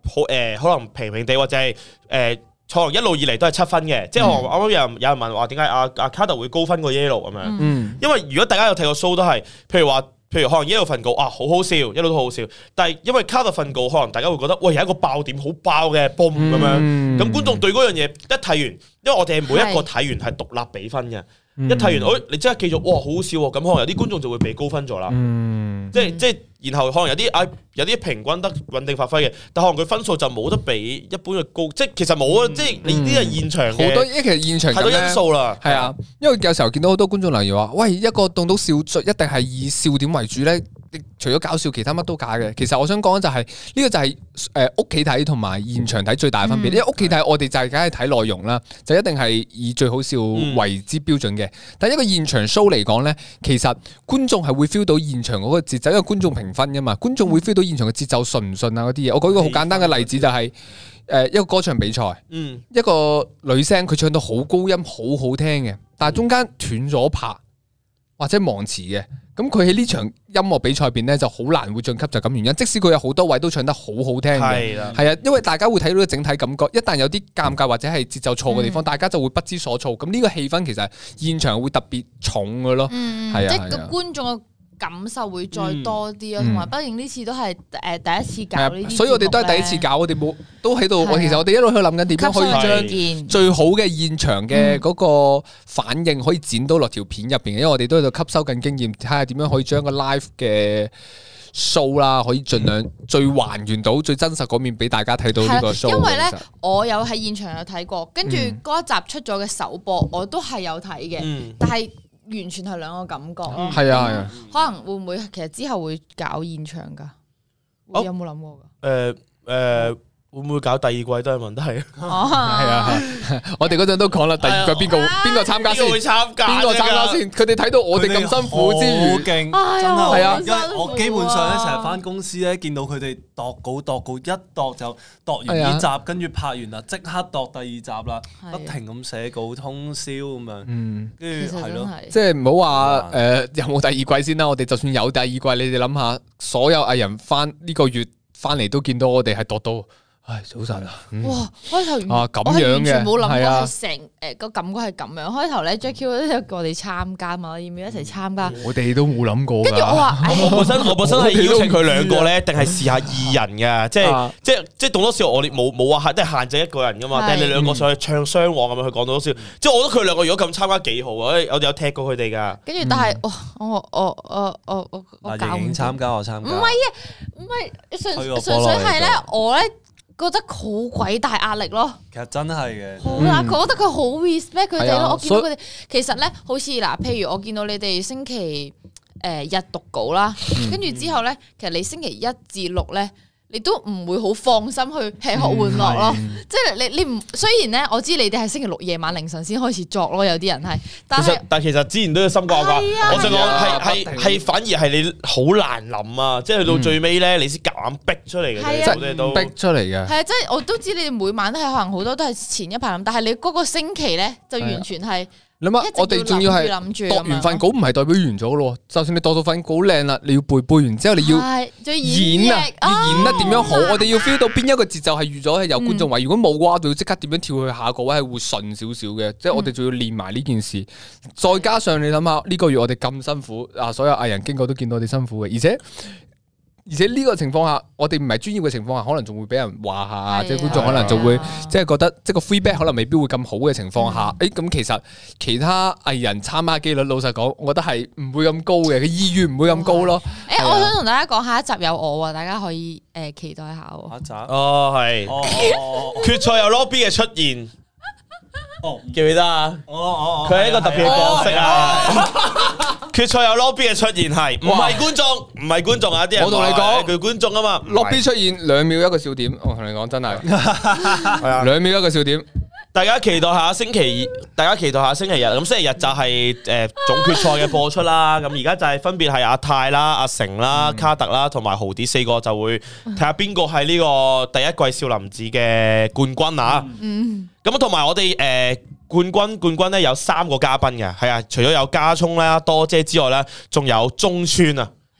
好誒，可能平平地或者係誒。可能一路以嚟都係七分嘅，即係我啱啱有人有人問話點解阿阿卡特會高分過 Yellow 咁樣？ 嗯， 因為如果大家有睇過 show 都係，譬如話，譬如可能 Yellow 份稿啊好好笑，一路都好好笑，但係因為卡特份稿可能大家會覺得喂有一個爆點好爆嘅 boom 咁樣，咁觀眾對嗰樣嘢一睇完，因為我哋係每一個睇完係獨立比分嘅。一睇完，誒，你即刻記住，哇，好好笑喎！咁可能有啲觀眾就會被高分咗啦。嗯，即係即係，然後可能有啲啊，有啲平均得穩定發揮嘅，但可能佢分數就冇得比一般嘅高。即係其實冇啊，即係你呢啲係現場嘅好多，因為其實現場太多因素啦。 係啊，因為有時候見到好多觀眾留言話，喂，一個動到笑最一定係以笑點為主咧。除咗搞笑，其他乜都假嘅。其實我想講就係呢個就係誒屋企睇同埋現場睇最大嘅分別。因為屋企睇我哋就係梗係睇內容啦，就一定係以最好笑為之標準嘅。但係一個現場 show 嚟講咧，其實觀眾係會 feel 到現場嗰個節奏，因為觀眾評分噶嘛，觀眾會 feel 到現場嘅節奏順唔順啊嗰啲嘢。我舉一個好簡單嘅例子就係誒一個歌唱比賽，一個女聲佢唱到好高音好好聽嘅，但係中間斷咗拍或者忘詞嘅。咁佢喺呢場音樂比賽入邊咧就好難會晉級，就咁原因。即使佢有好多位都唱得好好聽嘅，係啊，因為大家會睇到個整體感覺。一旦有啲尷尬或者係節奏錯嘅地方，嗯、大家就會不知所措。咁呢個氣氛其實現場會特別重嘅咯， 嗯、 係啊， 即係個觀眾嘅感受會再多啲咯。同埋、嗯，畢竟呢次都係誒第一次搞呢啲， 所以我哋都係第一次搞，我哋冇都喺度。我其實我哋一路去諗緊點樣可以將最好嘅現場嘅嗰個反應可以剪到落條片入邊嘅，因為我哋都喺度吸收緊經驗，睇下點樣可以將個 live 嘅 show 啦，可以盡量最還原到最真實嗰面俾大家睇到呢個 show。 因為咧，我有喺現場有睇過，跟住嗰一集出咗嘅首播，我都係有睇嘅，嗯、但係。完全係兩個感覺咯， 係啊係啊， 可能會唔會其實之後會搞現場㗎？有冇諗過㗎？ 誒誒。會唔會搞第二季都係問題？係啊，我哋嗰陣都講啦，第二季邊個邊個參加先？邊個參加？邊個參加先？佢哋睇到我哋咁辛苦之餘， 好勁，真係啊！因為我基本上咧成日翻公司咧，見到佢哋度稿度稿一度就度完呢集，跟住拍完啦，即刻度第二集啦，不停咁寫稿通宵咁樣。嗯，跟住係咯， 即係唔好話誒有冇第二季先啦。我哋就算有第二季，你哋諗下，所有藝人翻呢個月翻嚟都見到我哋係度到。唉，早晨啊！ 哇，開頭啊咁樣嘅， 完全冇諗過係成誒個感覺係咁樣。開頭咧 Jackie 都有叫我哋參加嘛，要唔要一齊參加？ 我哋都冇諗過。 跟住我話， 我本身我本身係邀請佢兩個咧，定係試下二人嘅，即係即係即係棟篤笑，我哋冇冇話係即係限制一個人噶嘛，定係你兩個上去唱雙簧咁樣去講棟篤笑。即係我覺得佢兩個如果咁參加幾好啊！我哋有踢過佢哋噶。 跟住但係我我我我我我我搞唔參加我參加。唔係啊，唔係純純粹係咧，我咧。覺得好鬼大壓力咯， 其實真係嘅， 好啦，佢覺得佢好 respect 佢哋咯。我見到佢哋，其實咧，好似嗱，譬如我見到你哋星期誒日讀稿啦，跟住之後咧，其實你星期一至六咧，你都唔會好放心去吃喝玩樂咯。即係你你唔雖然咧，我知你哋係星期六夜晚凌晨先開始作咯，有啲人係，但係但係其實之前都要心掛掛。我想講係係係反而係你好難諗啊！即係去到最尾咧，你先夾硬逼出嚟嘅， 好多都逼出嚟嘅。 係啊，即係我都知你哋每晚都係可能好多都係前一排諗，但係你嗰個星期咧就完全係。 你諗下，我哋仲要係度完份稿，唔係代表完咗咯。就算你度到份稿靚啦，你要背背完之後，你要演啊，要演得點樣好？我哋要 feel 到邊一個節奏係預咗係有觀眾位，如果冇嘅話，我哋要即刻點樣跳去下個位係會順少少嘅。即係我哋仲要練埋呢件事。再加上你諗下，呢個月我哋咁辛苦啊，所有藝人經過都見到我哋辛苦嘅，而且。而且呢個情況下，我哋唔係專業嘅情況下，可能仲會俾人話下，即係觀眾可能就會即係覺得，即係個 feedback 可能未必會咁好嘅情況下，誒咁其實其他藝人參加機率，老實講，我覺得係唔會咁高嘅，佢意願唔會咁高咯。 誒，我想同大家講下一集有我啊，大家可以誒期待下喎。 下一集哦，係決賽有 Lobby 嘅出現，哦記唔記得啊？哦哦，佢係一個特別嘅角色啊。決賽有 Lobby 嘅出現係，唔係觀眾，唔係觀眾啊！啲人我同你講， 佢觀眾啊嘛。 Lobby 出現兩秒一個笑點，我同你講真係，係啊，兩秒一個笑點。 大家期待下星期，大家期待下星期日。咁星期日就係誒總決賽嘅播出啦。咁而家就係分別係阿泰啦、阿成啦、卡特啦同埋豪啲四個就會睇下邊個係呢個第一季少林寺嘅冠軍啊！咁同埋我哋誒。冠軍冠軍咧有三個嘉賓嘅，係啊，除咗有加聰啦、多姐之外咧，仲有中村啊，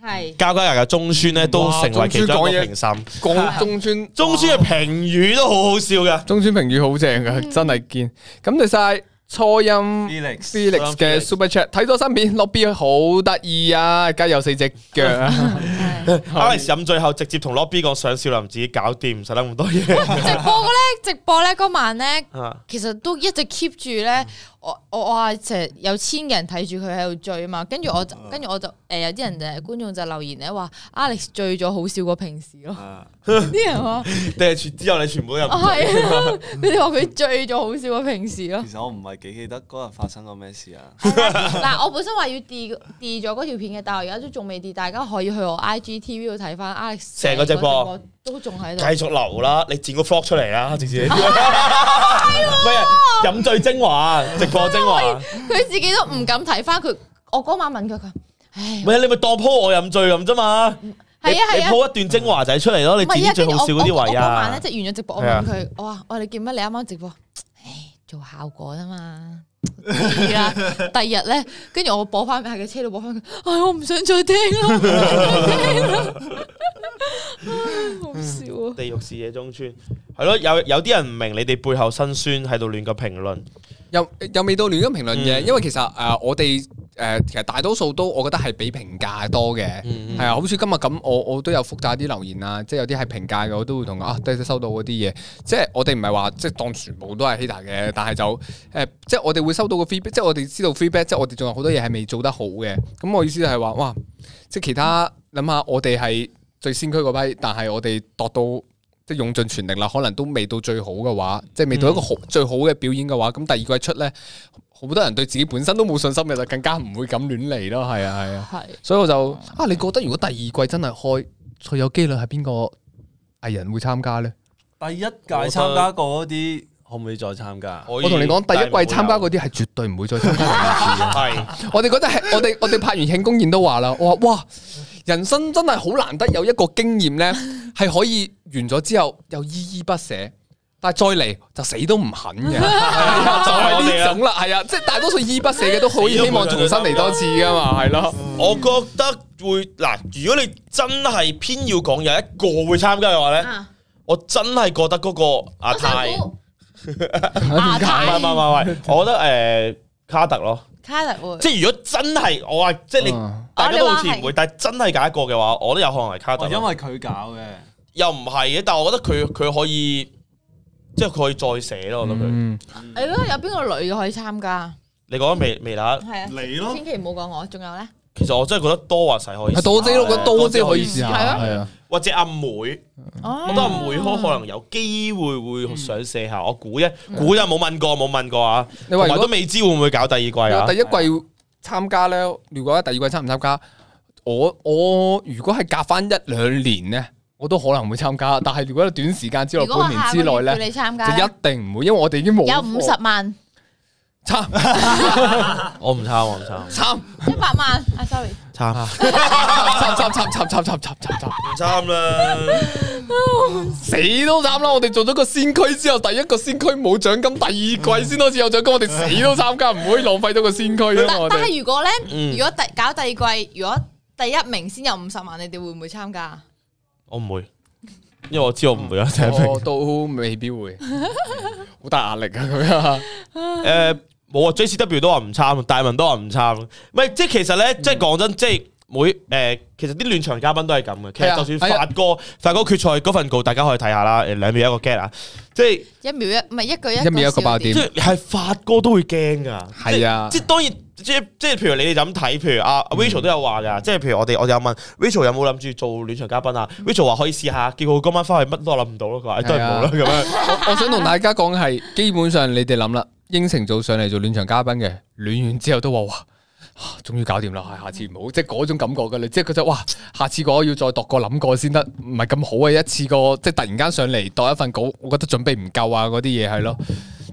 係交加嘅中村咧都成為其中一個評審。 講中村， 中村嘅評語都好好笑㗎。 中村評語好正㗎，真係堅。感謝晒初音 Felix Felix 嘅 Super Chat，睇咗新片，落 B 好得意啊！而家有四隻腳啊！ Alex 飲醉後直接同 Lobby 講上少林自己搞掂，唔使諗咁多嘢。 直播嘅咧，直播咧嗰晚咧， 啊其實都一直 keep 住咧。我我我話成日有千個人睇住佢喺度醉啊嘛，跟住我就跟住我就誒有啲人誒觀眾就留言咧話 Alex 醉咗好笑過平時咯。啲人話定係之後你全部都入？ 係啊，佢哋話佢醉咗好笑過平時咯。 其實我唔係幾記得嗰日發生過咩事啊。 嗱，我本身話要 delete delete 咗嗰條片嘅，但係我而家都仲未 delete，大家可以去我 I G T V 度睇翻 Alex 成個直播都仲喺度。 繼續留啦，你剪個 vlog 出嚟啦，直接。係啊，飲醉精華，直播精華。 佢自己都唔敢睇翻佢。我嗰晚問佢，佢唉， 唔係你咪當 po 我飲醉咁啫嘛。 係啊係啊， 你 po 一段精華仔出嚟咯，你剪最好笑嗰啲位啊。 嗰晚咧即係完咗直播，我問佢，我話我你見乜？你啱啱直播，唉，做效果啊嘛。係啊，第二日咧，跟住我播翻喺個車度播翻佢，唉，我唔想再聽啦，唔想再聽啦。好笑啊！ 地獄視野中村係咯，有有啲人唔明你哋背後辛酸喺度亂咁評論， 又又未到亂咁評論嘅， 嗯因為其實誒、呃、我哋誒、呃、其實大多數都我覺得係俾評價多嘅，係、 嗯啊，好似今日咁，我我都有覆曬啲留言啊，即係有啲係評價嘅，我都會同佢啊，都收到嗰啲嘢，即係我哋唔係話即係當全部都係 hater 嘅，但係就誒、呃、即係我哋會收到個 feedback，即係我哋知道 feedback，即係我哋仲有好多嘢係未做得好嘅，咁我意思就係話哇，即係其他諗下我哋係最先驅嗰批，但係我哋度到。即係用盡全力啦，可能都未到最好嘅話，即係未到一個好、嗯、最好嘅表演嘅話，咁第二季出咧，好多人對自己本身都冇信心嘅，就更加唔會咁亂嚟咯。係啊，係啊，係。所以我就啊，你覺得如果第二季真係開，最有機率係邊個藝人會參加咧？ 第一屆參加過嗰啲可唔可以再參加？ 我同你講，第一季參加嗰啲係絕對唔會再參加第二次嘅。係，我哋覺得係，我哋我哋拍完慶功宴都話啦，我話哇。人生真係好難得有一個經驗咧，係可以完咗之後又依依不捨，但係再嚟就死都唔肯嘅，就係呢種啦，係啊，即係大多數依依不捨嘅都可以希望重新嚟多次噶嘛，係咯。 我覺得會嗱，如果你真係偏要講有一個會參加嘅話咧，啊、我真係覺得嗰個阿泰， 阿泰， 唔係唔係唔係，我覺得誒、呃、卡特咯。 卡特會， 即係如果真係我話，即係你、嗯、大家都好似唔會，但係真係揀一個嘅話，我都有可能係卡特。 因為佢搞嘅， 又唔係嘅，但係我覺得佢佢可以，即係佢可以再寫咯。我覺得佢， 你覺得有邊個女嘅可以參加？ 你講微微辣， 係啊， 你咯， 千祈唔好講我。仲有咧？ 其實我真係覺得多話細可以， 多姐，我覺得多姐可以試下， 係啊， 或者阿妹，我覺得阿妹可可能有機會會想寫下。我估啫，估就冇問過，冇問過啊。你話都未知會唔會搞第二季啊？ 第一季參加咧，如果第二季參唔參加，我我如果係隔翻一兩年咧，我都可能會參加。但係如果短時間之內、半年之內咧，就一定唔會，因為我哋已經冇有五十萬。 參， 我唔參，我唔參。 參一百萬啊 ，sorry。 參， 參參參參參參參參參， 唔參啦， 死都參啦！我哋做咗個先驅之後，第一個先驅冇獎金，第二季先開始有獎金，我哋死都參加，唔可以浪費咗個先驅啊！ 但係如果咧，如果第搞第二季，如果第一名先有五十萬，你哋會唔會參加？ 我唔會，因為我知我唔會有第一名， 我都未必會，好大壓力啊！佢啊， 誒。冇啊 ，J C W 都話唔參，大文都話唔參，唔係即係其實咧，即係講真，即係每誒，其實啲暖場嘉賓都係咁嘅。其實就算發哥發哥決賽嗰份稿，大家可以睇下啦。誒，兩秒一個 get 啊，即係一秒一唔係一句一一秒一個爆點， 即係係發哥都會驚噶。 係啊， 即係當然，即係即係譬如你哋就咁睇，譬如阿 Rachel 都有話噶，即係譬如我哋我哋有問 Rachel 有冇諗住做暖場嘉賓啊 ？Rachel 話可以試下，結果今晚翻去乜都諗唔到咯，佢話都係冇啦咁樣。 我想同大家講係，基本上你哋諗啦。應承做上嚟做暖場嘉賓嘅，暖完之後都話哇，終於搞掂啦，下次唔好，即係嗰種感覺噶啦，即係覺得哇，下次我要再度過諗過先得，唔係咁好嘅一次過，即係突然間上嚟度一份稿，我覺得準備唔夠啊，嗰啲嘢係咯，再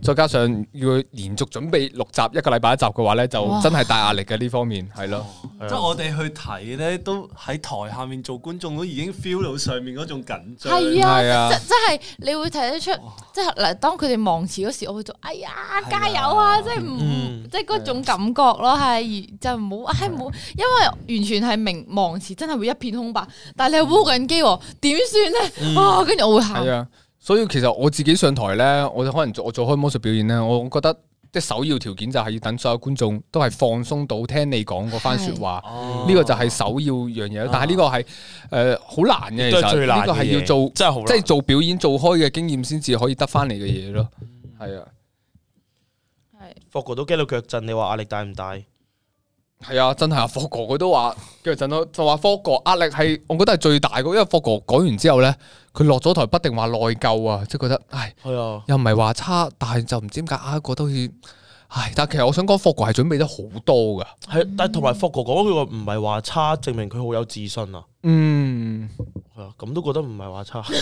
再加上要連續準備六集一個禮拜一集嘅話咧，就真係大壓力嘅呢方面係咯。 即係我哋去睇咧，都喺台下面做觀眾都已經 feel 到上面嗰種緊張。 係啊， 係啊即即係你會睇得出，即係嗱，當佢哋忘詞嗰時，我會做哎呀加油啊！即係唔即係嗰種感覺咯，係就唔好唉冇，因為完全係明忘詞，真係會一片空白。但係你係烏緊機喎，點算咧？啊，跟住我會喊。 係啊，所以其實我自己上台咧，我可能做我做開魔術表演咧，我覺得即係首要條件就係要等所有觀眾都係放鬆到聽你講嗰番説話，呢個就係首要樣嘢。但係呢個係誒好難嘅，其實呢個係要做真係好， 即係做表演做開嘅經驗先至可以得翻嚟嘅嘢咯。係啊， 係。 霍哥都驚到腳震，你話壓力大唔大？ 係啊，真係啊！霍哥佢都話腳震咯，就話霍哥壓力係，我覺得係最大嘅，因為霍哥講完之後咧，佢落咗台不定話內疚啊，即係覺得，唉， 係啊， 又唔係話差，但係就唔知點解啊，覺得好似，唉，但係其實我想講霍哥係準備得好多噶， 係，但係同埋霍哥講佢個唔係話差，證明佢好有自信啊。 嗯， 係啊，咁都覺得唔係話差，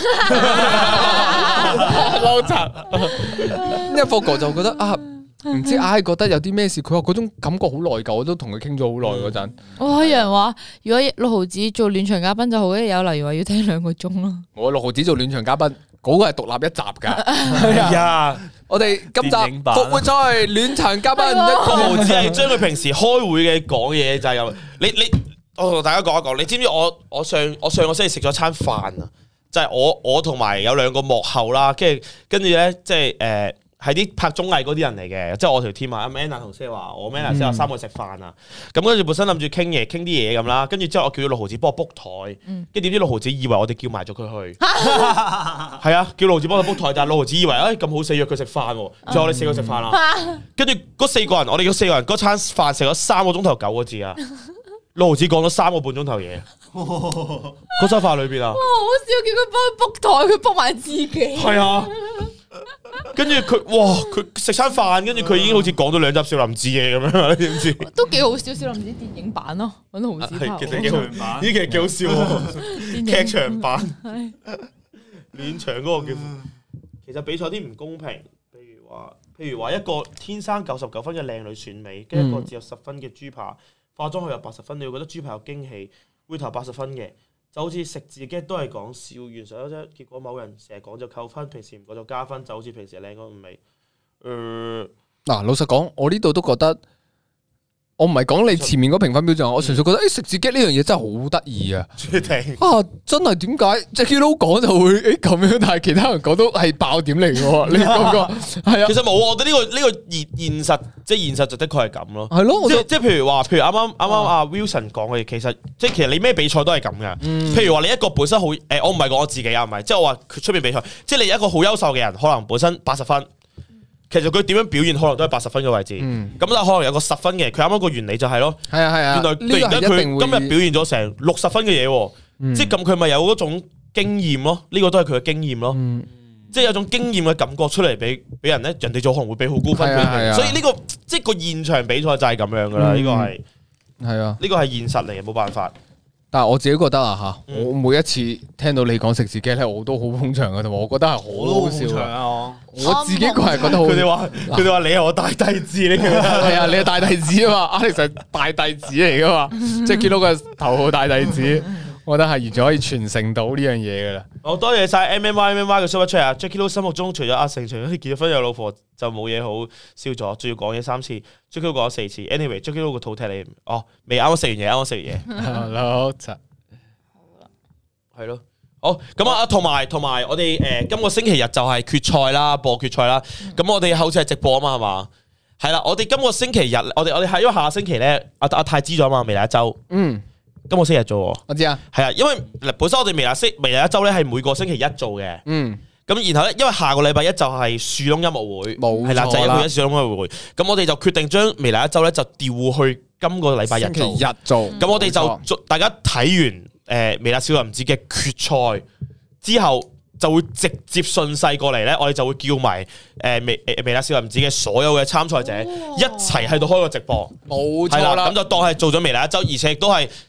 撈柒，因為霍哥就覺得啊。唔知唉，覺得有啲咩事，佢話嗰種感覺好內疚，我都同佢傾咗好耐嗰陣。 哇！有人話如果六毫子做暖場嘉賓就好，有例如話要聽兩個鐘咯。 我六毫子做暖場嘉賓，嗰個係獨立一集㗎。係啊， 我哋今集復活賽暖場嘉賓， 六毫子係將佢平時開會嘅講嘢就係有你你，我同大家講一講，你知唔知我我上我上個星期食咗餐飯啊？就係我我同埋有兩個幕後啦，跟住跟住咧即係誒。係啲拍綜藝嗰啲人嚟嘅，即係我條 team 啊 ，Manna 同 Sarah，我 Manna Sarah 三個食飯啊，咁跟住本身諗住傾嘢，傾啲嘢咁啦，跟住之後我叫咗六毫子幫我 book 台，跟住點知六毫子以為我哋叫埋咗佢去，係啊，叫六毫子幫佢 book 台，但係六毫子以為誒咁好死約佢食飯，最後我哋四個食飯啦，跟住嗰四個人，我哋嗰四個人嗰餐飯食咗三個鐘頭九個字啊，六毫子講咗三個半鐘頭嘢，嗰餐飯裏邊啊， 哇，好笑，叫佢幫佢 book 台，佢 book 埋自己， 係啊。跟住佢，哇！佢食餐飯，跟住佢已經好似講咗兩集少林寺嘢咁樣，你知唔知？ 都幾好笑，少林寺電影版咯，揾毫子拍。 其實幾好，呢其實幾好笑喎，劇場版。暖場嗰個叫，其實比賽啲唔公平，譬如話，譬如話一個天生九十九分嘅靚女選美，跟一個只有十分嘅豬扒，化妝佢有八十分，你會覺得豬扒有驚喜，會投八十分嘅。就好似食字嘅都係講笑完上咗啫，結果某人成日講就扣分，平時唔講就加分，就好似平時靚嗰五味。誒、呃， 嗱，老實講，我呢度都覺得，我唔係講你前面嗰評分標準，我純粹覺得誒食字機呢樣嘢真係好得意啊！啊，真係點解 Jacky Lou 講就會誒咁樣，但係其他人講都係爆點嚟嘅喎？你覺唔覺？係啊， 其實冇，我覺得呢、呢個呢、呢個現現實，即係現實就的確係咁咯。 係咯， 即即係譬如話，譬如啱啱啱啱阿 Wilson 講嘅，其實即係其實你咩比賽都係咁嘅。 嗯、 譬如話你一個本身好誒，我唔係講我自己啊，唔係，即係我話佢出面比賽，即係你一個好優秀嘅人，可能本身八十分。其實佢點樣表現可能都係八十分嘅位置，咁、嗯、但係可能有個十分嘅，佢啱啱個原理就係咯， 係啊係啊， 原來突然間佢今日表現咗成六十分嘅嘢，嗯、即係咁佢咪有嗰種經驗咯，呢、這個都係佢嘅經驗咯，嗯、即係有種經驗嘅感覺出嚟俾俾人咧，人哋就可能會俾好高分俾佢，所以呢、這個即係個現場比賽就係咁樣噶啦，呢、嗯、個係係啊，呢個係現實嚟嘅，冇辦法。 但係我自己覺得啊吓，我每一次聽到你講食字機咧，我都好捧場嘅，同埋我覺得係好好笑啊！我自己個人覺得好。佢哋話佢哋話你係我大弟子，你係啊，你係大弟子啊嘛，Alex係大弟子嚟噶嘛，即係見到個頭號大弟子，我覺得係完全可以傳承到呢樣嘢噶啦。好多謝晒 M M Y M M Y 嘅 super chat 啊 Jacky Lou 心目中除咗阿成，除咗結咗婚有老婆就冇嘢好笑咗，仲要講嘢三次 Jacky Lou 講咗四次 ，anyway Jacky Lou 個肚踢你，哦未啱啱食完嘢，啱啱食完嘢，好柒，好啦，係咯，好咁啊，同埋同埋我哋誒今個星期日就係決賽啦，播決賽啦，咁我哋好似係直播啊嘛，係嘛？係啦，我哋今個星期日，我哋我哋係因為下星期咧，阿阿泰知咗啊嘛，未來一周，嗯。今個星期日做，我知啊，係啊，因為本身我哋微辣星微辣一周咧係每個星期一做嘅，嗯，咁然後咧，因為下個禮拜一就係樹窿音樂會，冇係啦，就係一個一樹窿音樂會，咁我哋就決定將微辣一周咧就調去今個禮拜日做，星期日做，咁我哋就做大家睇完誒微辣少林寺嘅決賽之後，就會直接順勢過嚟咧，我哋就會叫埋誒微誒微辣少林寺嘅所有嘅參賽者一齊喺度開個直播，冇錯啦，咁就當係做咗微辣一周，而且亦都係。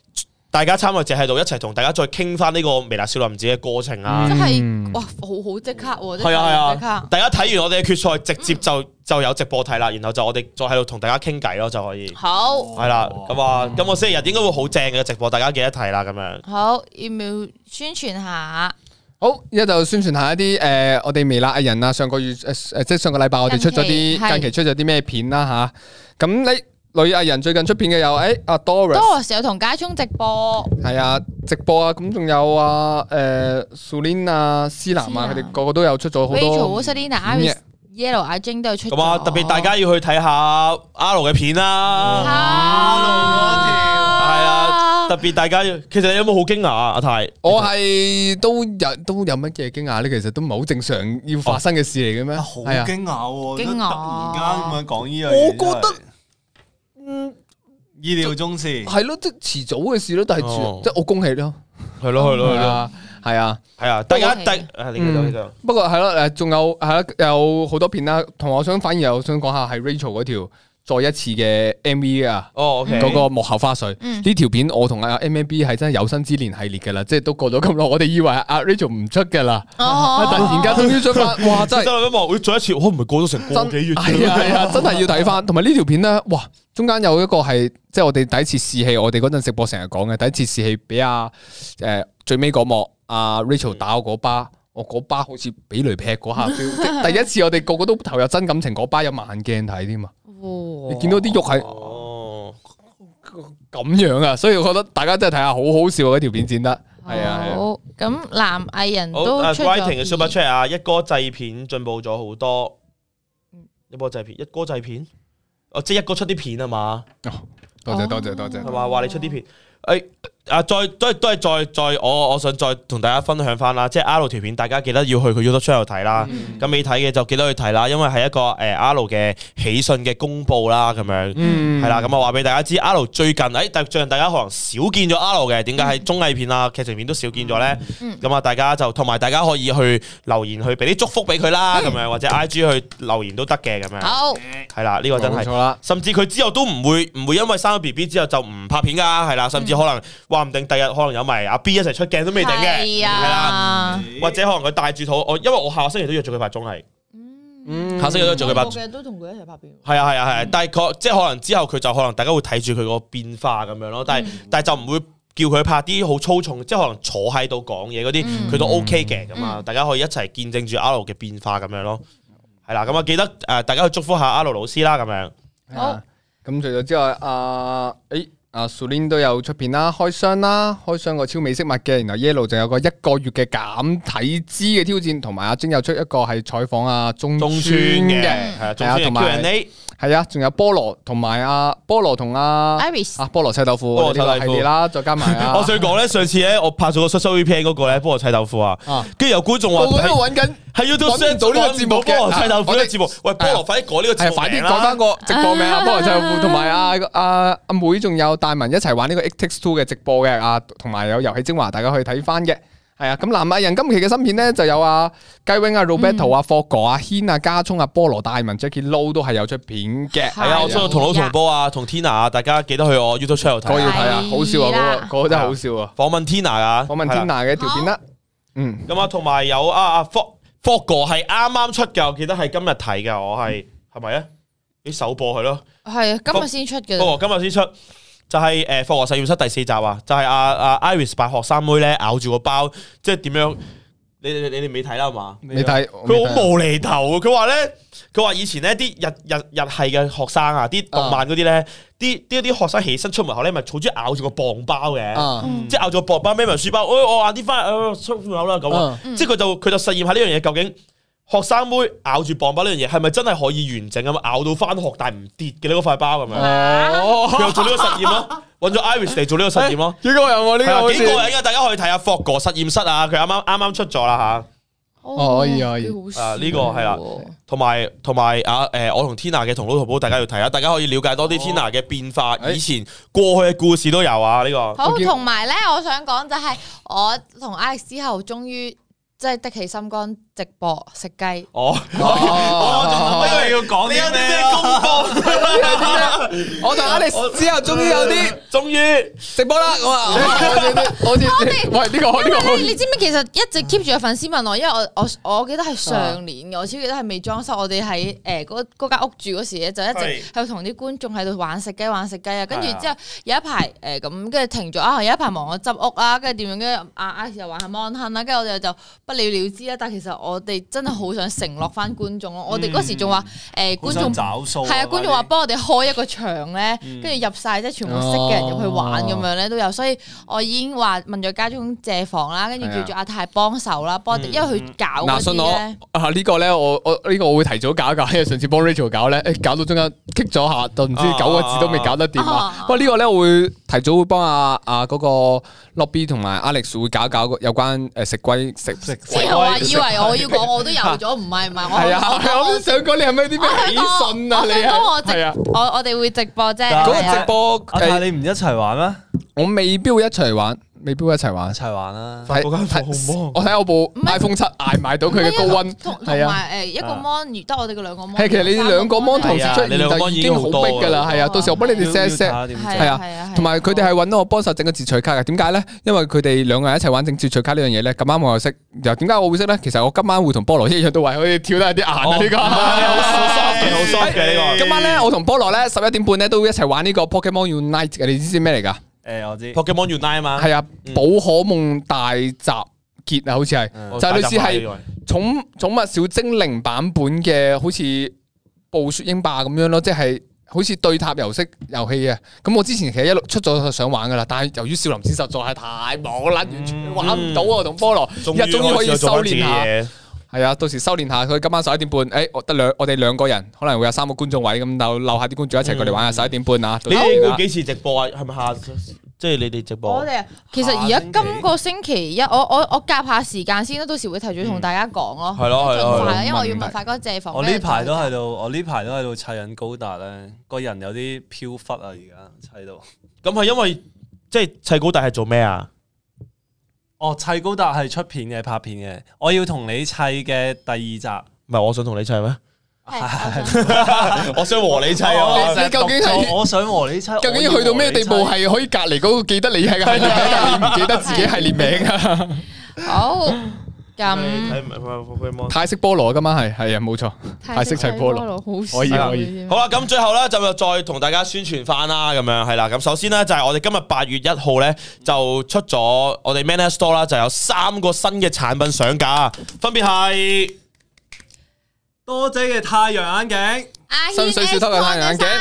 大家參與者喺度一齊同大家再傾翻呢個微辣少林寺嘅過程啊！ 真係哇，好好即刻喎！ 係啊係啊啊！大家睇完我哋嘅決賽，直接就就有直播睇啦，然後就我哋再喺度同大家傾偈咯，就可以。 好係啦，咁啊，今個星期日應該會好正嘅直播，大家記得睇啦，咁樣。 好，要唔要宣傳下？ 好，而家就宣傳下一啲誒，我哋微辣藝人啊，上個月誒誒，即係上個禮拜我哋出咗啲近期係近期出咗啲咩片啦吓。咁你女藝人最近出片嘅有誒阿 Doris。 Doris 有同家聰直播。 係啊，直播啊，咁仲有啊，誒 Sulin 啊、思南啊，佢哋個個都有出咗好多。 Rachel、Selina、Iris、Yellow、阿晶都有出咗。 咁啊，特別大家要去睇下阿盧嘅片啦。係啊，特別大家要，其實你有冇好驚訝啊？阿泰， 我係都有都有乜嘢驚訝咧？其實都唔係好正常要發生嘅事嚟嘅咩？ 好驚訝喎！ 驚訝突然間咁樣講呢樣嘢， 我覺得嗯意料中事係咯，即係遲早嘅事咯，但係哦即係我恭喜咯， 係咯係咯係咯， 啊，係啊。 係啊！大家恭喜第啊，你繼續你繼續。 不過係咯，誒，仲有係啦，有好多片啦。同埋我想反而又想講下係 Rachel 嗰條再一次嘅 M V 啊， 哦，OK， 嗰個幕後花絮嗯呢條片，我同阿 M M B 係真係有生之年系列噶啦，即係都過咗咁耐，我哋以為阿 Rachel 唔出噶啦， 哦突然間終於出翻，哇！真係真係一望，會再一次，我唔係過咗成個幾月嘅係啊係啊，真係要睇翻。同埋呢條片咧，哇！中間有一個係即係我哋第一次試戲，我哋嗰陣直播成日講嘅第一次試戲，俾阿誒最尾嗰幕阿 Rachel 打我嗰巴，我嗰巴好似俾雷劈嗰下 feel，即係第一次我哋個個都投入真感情，嗰巴有慢鏡睇添啊！你見到啲肉係哦， 咁樣啊，所以我覺得大家真係睇下，好好笑啊！嗰條片剪得係啊係啊。 好，咁男藝人好啊都出 Writing 嘅咗 Super 片。 Chat 啊，一哥製片進步咗好多，一波製片，一哥製片，哦，即係一哥出啲片啊嘛， 多謝多謝多謝係。嘛？話你出啲片，誒啊，再都係都係再再，我我想再同大家分享翻啦，即係 R 條片，大家記得要去佢 YouTube channel 睇啦。咁未睇嘅就記得去睇啦，因為係一個誒 R 嘅喜訊嘅公佈啦，咁樣嗯係啦。咁啊話俾大家知，R 最近誒，但最近大家可能少見咗 R 嘅，點解喺綜藝片啊、劇情片都少見咗咧？咁啊，大家就同埋大家可以去留言去俾啲祝福俾佢啦，咁樣或者 I G 去留言都得嘅，咁樣好， 係啦，呢個真係冇錯。啦。 甚至佢之後都唔會唔會因為生咗 B B 之後就唔拍片噶，係啦，甚至可能話唔定第日可能有埋阿 B 一齊出鏡都未定嘅， 係係啦， 啊， 或者可能佢帶住肚，我因為我下個星期都約咗佢拍綜藝， 嗯下星期都約咗佢拍， 我嘅都同佢一齊拍片。 係啊係啊係啊，但係佢即係可能之後佢就可能大家會睇住佢個變化咁樣咯，但係但係就唔會叫佢拍啲好粗重，即係可能坐喺度講嘢嗰啲，佢都 OK 嘅咁啊，大家可以一齊見證住阿盧嘅變化咁樣咯，係啦，咁啊記得誒大家去祝福下阿盧老師啦，咁樣。 好。 咁除咗之外，阿誒阿 Sulin 都有出片啦，開箱啦，開箱個超美飾物嘅，然後 Yellow 就有個一個月嘅減體脂嘅挑戰，同埋阿晶又出一個係採訪阿中中村村嘅， 嘅， 係啊，中係啊， 村嘅同埋 Q and A。 係啊，仲有菠蘿同埋阿菠蘿同阿 Iris 啊菠蘿砌豆腐菠蘿砌豆腐呢個系列啦，再加埋啊， 我想講咧，上次咧我拍咗個 social V P N 嗰個咧，菠蘿砌豆腐啊， 啊跟住有觀眾話個個都揾緊， 喺 YouTube 揾唔到呢個節目嘅菠蘿砌豆腐呢個節目，喂，菠蘿快啲改呢個節係目名啦快啲講翻個直播名啊！菠蘿砌豆腐同埋阿阿阿妹仲有大文一齊玩呢個 It Takes Two 嘅直播嘅啊，同埋有遊戲精華，大家可以睇翻嘅。係啊，咁男藝人今期嘅新片咧就有阿雞 wing 啊、Roberto 啊、霍哥啊、軒啊、家聰啊、菠蘿、大文、Jackie Lou 都係有出片嘅。 係啊，我出到同老同波啊，同 Tina 啊，大家記得去我 YouTube channel 嗰個要睇睇啊，好笑啊！嗰個嗰個真係好笑啊！ 訪問 Tina 啊， 訪問 Tina 嘅條片啦，嗯， 咁啊，同埋有啊啊霍霍哥係啱啱出嘅，我記得係今日睇嘅，我係係咪啊？啲首播係咯， 係啊，今日先出嘅。 霍哥今日先出。就係誒霍哥實驗室第四集啊，就係阿阿 Iris 扮學生妹咧咬住個包，即係點樣？你你你哋未睇啦係嘛？ 你睇佢好無厘頭啊！佢話咧，佢話以前咧啲日日日系嘅學生啊，啲動漫嗰啲咧，啲啲啲學生起身出門口咧，咪好中意咬住個磅包嘅， 啊即係咬住個磅包孭埋書包，我我晏啲翻誒出門口啦咁啊！即係佢就佢就實驗下呢樣嘢，究竟學生妹咬住磅包呢樣嘢係咪真係可以完整咁咬到翻學，但係唔跌嘅呢個塊包咁樣？ 哦， 佢又做呢個實驗咯，揾咗 Iris 嚟做呢個實驗咯。 幾個人喎呢個好係啊幾個似人嘅，大家可以睇下霍哥實驗室啊，佢啱啱啱啱出咗啦嚇。 哦可以可以啊呢個係啦同埋同埋啊誒，我同 Tina 嘅同老同胞，大家要睇下，大家可以了解多啲 Tina 嘅變化，以前過去嘅故事都有啊。呢個好，同埋咧，我想講就係我同 Alex 之後，終於即係的起心肝，直直播食雞。 哦， 我仲諗緊你要講你有啲啲咩咩公佈？ 我同 Alex 之後終於有啲終於直播啦，我話我哋喂呢個呢個， 你知唔知其實一直 keep 住有粉絲問我，因為我我我記得係上年嘅，我超記得係未裝修，我哋喺誒嗰嗰間屋住嗰時咧，就一直喺度同啲觀眾喺度玩食雞玩食雞啊，跟住之後有一排誒咁，跟住停咗啊，有一排忙我執屋啊，跟住點樣，跟住阿阿又玩下 mon 亨啦，跟住我哋就不了了之啦。但係其實我哋真係好想承諾翻觀眾咯，我哋嗰時仲話誒觀眾找數， 係啊，觀眾話幫我哋開一個場咧，跟住入晒即係全部識嘅人入去玩咁樣咧都有，所以我已經話問咗家中借房啦，跟住叫咗阿泰幫手啦，幫因為佢搞嗰啲咧。 啊呢個咧，我我呢個我會提早搞一搞，因為上次幫 Rachel 搞咧，誒搞到中間棘咗下，就唔知九個字都未搞得掂啊。不過呢個咧，我會提早會幫阿阿嗰個 Lobby 同埋 Alex 會搞一搞有關誒食龜食食。 之後話以為我要講我都有咗，唔係唔係我。 係啊，我都想講你係咪有啲咩喜訊啊？你係啊， 我我哋會直播啫。 嗰個直播阿泰你唔一齊玩咩？ 我未必會一齊玩。未必一齊玩， 一齊玩啦！ 嗰間房好芒， 我睇我部 iPhone 七捱埋到佢嘅高溫， 同同埋誒一個 mon 得我哋嘅兩個 mon。 係其實你兩個 mon 同時出現就已經好逼㗎啦，係啊！到時我幫你哋 set 一 set，係啊，同埋佢哋係揾到我幫手整個截取卡嘅。點解咧？因為佢哋兩個人一齊玩整截取卡呢樣嘢咧，咁啱我又識。又點解我會識咧？其實我今晚會同菠蘿一樣都話可以跳得有啲硬啊！呢個好 soft 嘅，好 soft 嘅呢個。 今晚咧，我同菠蘿咧十一點半咧都一齊玩呢個 Pokemon Unite 嘅，你知唔知咩嚟㗎？ 誒我知 Pokemon Unite 啊嘛， 係啊，寶可夢大集結啊，好似係，就係類似係寵寵物小精靈版本嘅，好似暴雪英霸咁樣咯，即係好似對塔遊式遊戲啊。咁我之前其實一路出咗想玩噶啦，但係由於少林寺實在係太忙啦，完全玩唔到啊。同菠蘿而家終於可以修煉下。係啊，到時修煉下佢今晚十一點半，誒，我得兩我哋兩個人，可能會有三個觀眾位咁，就留下啲觀眾一齊過嚟玩下十一點半啊！ 你哋會幾時直播啊？係咪下即係你哋直播？ 我哋其實而家今個星期一，我我我夾下時間先啦，到時會提早同大家講咯。 係咯係咯， 盡快，因為我要問發哥借房。 我呢排都喺度，我呢排都喺度砌緊高達咧，個人有啲飄忽啊！而家砌到。 咁係因為即係砌高達係做咩啊？ 哦，砌高達係出片嘅，拍片嘅。我要同你砌嘅第二集， 唔係我想同你砌咩？我想和你砌啊！ 你究竟係我想和你砌， 究竟去到咩地步係可以隔籬嗰個記得你係系列名，但係你唔記得自己系列名啊？ 好，咁泰式菠蘿今晚係係啊，冇錯，泰式砌菠蘿，可以可以。 好啦，咁最後咧就再同大家宣傳翻啦，咁樣係啦。咁首先咧就係我哋今日八月一號咧就出咗我哋 Manner Store 啦，就有三個新嘅產品上架，分別係多姐嘅太陽眼鏡， 新水小偷嘅太陽眼鏡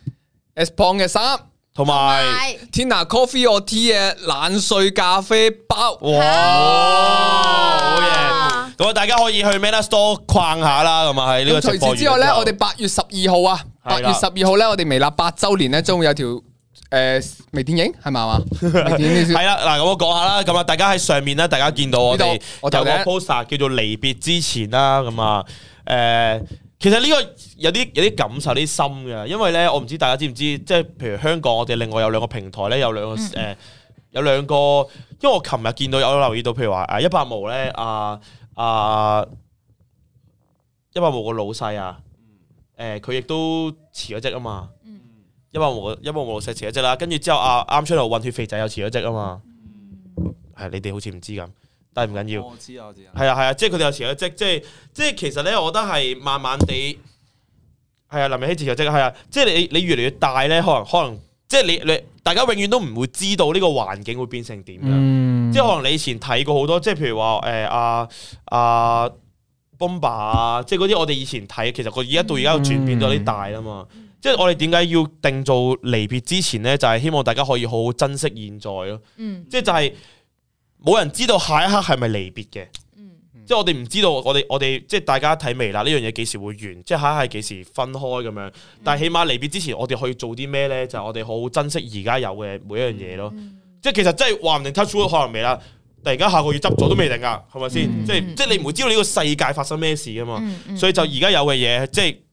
，S Pong 嘅衫， 同埋 Tina Coffee or Tea 嘅冷萃咖啡包。 哇，好嘢！咁啊，大家可以去 Manner Store 逛下啦，咁啊喺呢個直播。 除此之外咧，我哋八月十二號啊，八月十二號咧，我哋微辣八周年咧，將會有條誒微電影係咪嘛？微電影係啦，嗱，咁我講下啦，咁啊，大家喺上面咧，大家見到我哋有個 poster 叫做離別之前啦，咁啊。誒、呃，其實呢個有啲有啲感受啲深嘅，因為咧，我唔知大家知唔知，即係譬如香港，我哋另外有兩個平台咧，有兩個誒、呃，有兩個，因為我琴日見到有留意到，譬如話誒一百毛咧，啊啊一百毛個老細啊，誒佢亦都辭咗職啊嘛，一百毛一百毛老細辭咗職啦，跟住之後啊啱出嚟混血肥仔又辭咗職啊嘛，係你哋好似唔知咁。但係唔緊要， 我知我知， 係啊係啊，即係佢哋有辭咗職，即係即係其實咧，我覺得係慢慢地，係啊林明熙辭咗職，係啊，即係你你越嚟越大咧，可能可能即係你你大家永遠都唔會知道呢個環境會變成點樣，嗯、即係可能你以前睇過好多，即係譬如話誒阿阿 Bomba 啊，即係嗰啲我哋以前睇，其實佢而家到而家轉變咗啲大啦嘛，嗯、即係我哋點解要定做離別之前咧，就係、是、希望大家可以好好珍惜現在咯，嗯、即係就係、是。冇人知道下一刻係咪離別嘅，嗯、即係我哋唔知道我哋我哋即係大家睇微辣呢樣嘢幾時會完，即係下一刻係幾時分開咁樣。嗯、但係起碼離別之前，我哋可以做啲咩咧？就係、是、我哋好好珍惜而家有嘅每一樣嘢咯。嗯、即係其實真係話唔定 touch wood 可能微辣，突然間下個月執咗都未定㗎，係咪先？即係即係你唔會知道呢個世界發生咩事㗎嘛。嗯嗯、所以就而家有嘅嘢，即係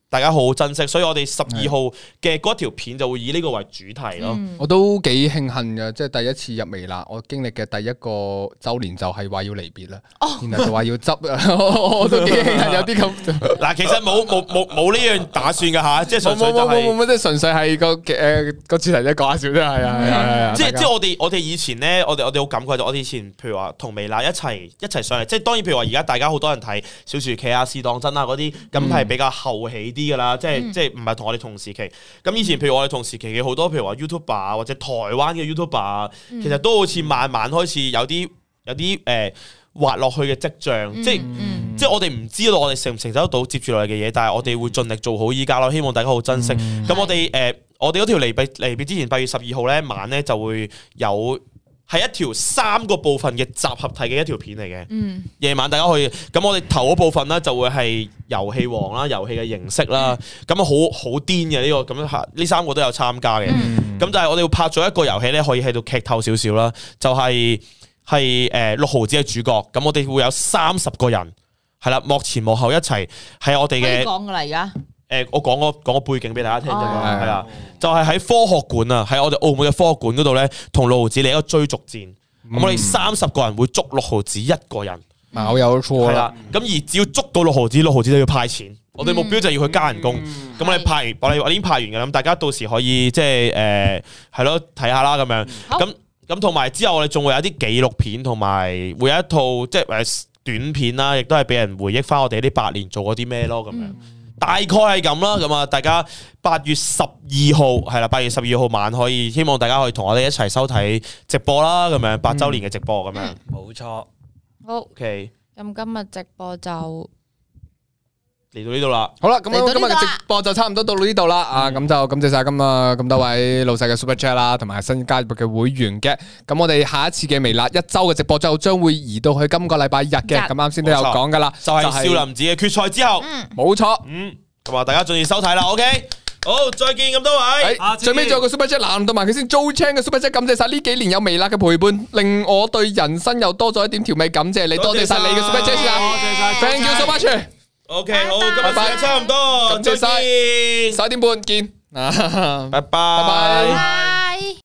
大家好好珍惜，所以我哋十二號嘅嗰條片就會以呢個為主題咯。 我都幾慶幸嘅，即係第一次入微辣，我經歷嘅第一個週年就係話要離別啦，然後就話要執啊，我都幾慶幸有啲咁。 嗱，其實冇冇冇冇呢樣打算㗎吓，即係純粹就係冇冇即係純粹係個誒個主題啫，講下笑啫，係啊係啊， 即係即係我哋我哋以前咧，我哋我哋好感慨就我哋以前，譬如話同微辣一齊一齊上嚟，即係當然譬如話而家大家好多人睇小薯茄啊、試當真啊嗰啲，咁係比較後起啲㗎啦，即係即係唔係同我哋同時期。咁以前譬如我哋同時期嘅好多譬如話 YouTuber 啊，或者台灣嘅 YouTuber 啊，其實都好似慢慢開始有啲有啲誒滑落去嘅跡象，即係即係我哋唔知道我哋承唔承受得到接住落嚟嘅嘢，但係我哋會盡力做好依家咯，希望大家好珍惜。咁我哋誒我哋嗰條離別離別之前八月十二號咧晚咧就會有。係一條三個部分嘅集合體嘅一條片嚟嘅，夜、嗯、晚大家可以咁，我哋頭嗰部分咧就會係遊戲王啦，遊戲嘅形式啦，咁啊好好癲嘅呢個咁樣，呢三個都有參加嘅，咁、嗯、就係我哋會拍咗一個遊戲咧，可以喺度劇透少少啦，就係係誒六毫子嘅主角，咁我哋會有三十個人，係啦，幕前幕後一齊係我哋嘅講噶啦而家。 誒，我講個講個背景俾大家聽啫嘛，係啦，就係喺科學館啊，喺我哋澳門嘅科學館嗰度咧，同六毫子嚟一個追逐戰。咁我哋三十個人會捉六毫子一個人， 冇有錯啦。 咁而只要捉到六毫子，六毫子就要派錢。我哋目標就係要去加人工。咁我哋派完，我哋我已經派完嘅，咁大家到時可以即係誒係咯睇下啦咁樣。咁咁同埋之後我哋仲會有啲紀錄片，同埋會有一套即係誒短片啦，亦都係俾人回憶翻我哋呢八年做過啲咩咯咁樣。大概係咁啦，咁啊，大家八月十二號係啦，八月十二號晚可以，希望大家可以同我哋一齊收睇直播啦，咁樣八周年嘅直播咁樣， 冇錯。 好 ，OK， 咁今日直播就嚟到呢度啦。 好啦，咁今日嘅直播就差唔多到呢度啦。啊，咁就感謝晒今日咁多位老細嘅 Super Chat 啦，同埋新加入嘅會員嘅。咁我哋下一次嘅微辣一周嘅直播就將會移到去今個禮拜日嘅。咁啱先都有講噶啦， 就係少林寺嘅決賽之後， 冇錯。 嗯，咁啊，大家盡力收睇啦。OK，好，再見咁多位。 最尾仲有個 Super Chat 難到埋佢先 Joe Chan 嘅 Super Chat，感謝晒呢幾年有微辣嘅陪伴，令我對人生又多咗一點調味。感謝你，多謝晒你嘅 Super Chat 先啊！多謝晒 ，Thank you so much。 OK，好，今日時間差唔多， 感謝晒，十一點半見， 拜拜，拜拜。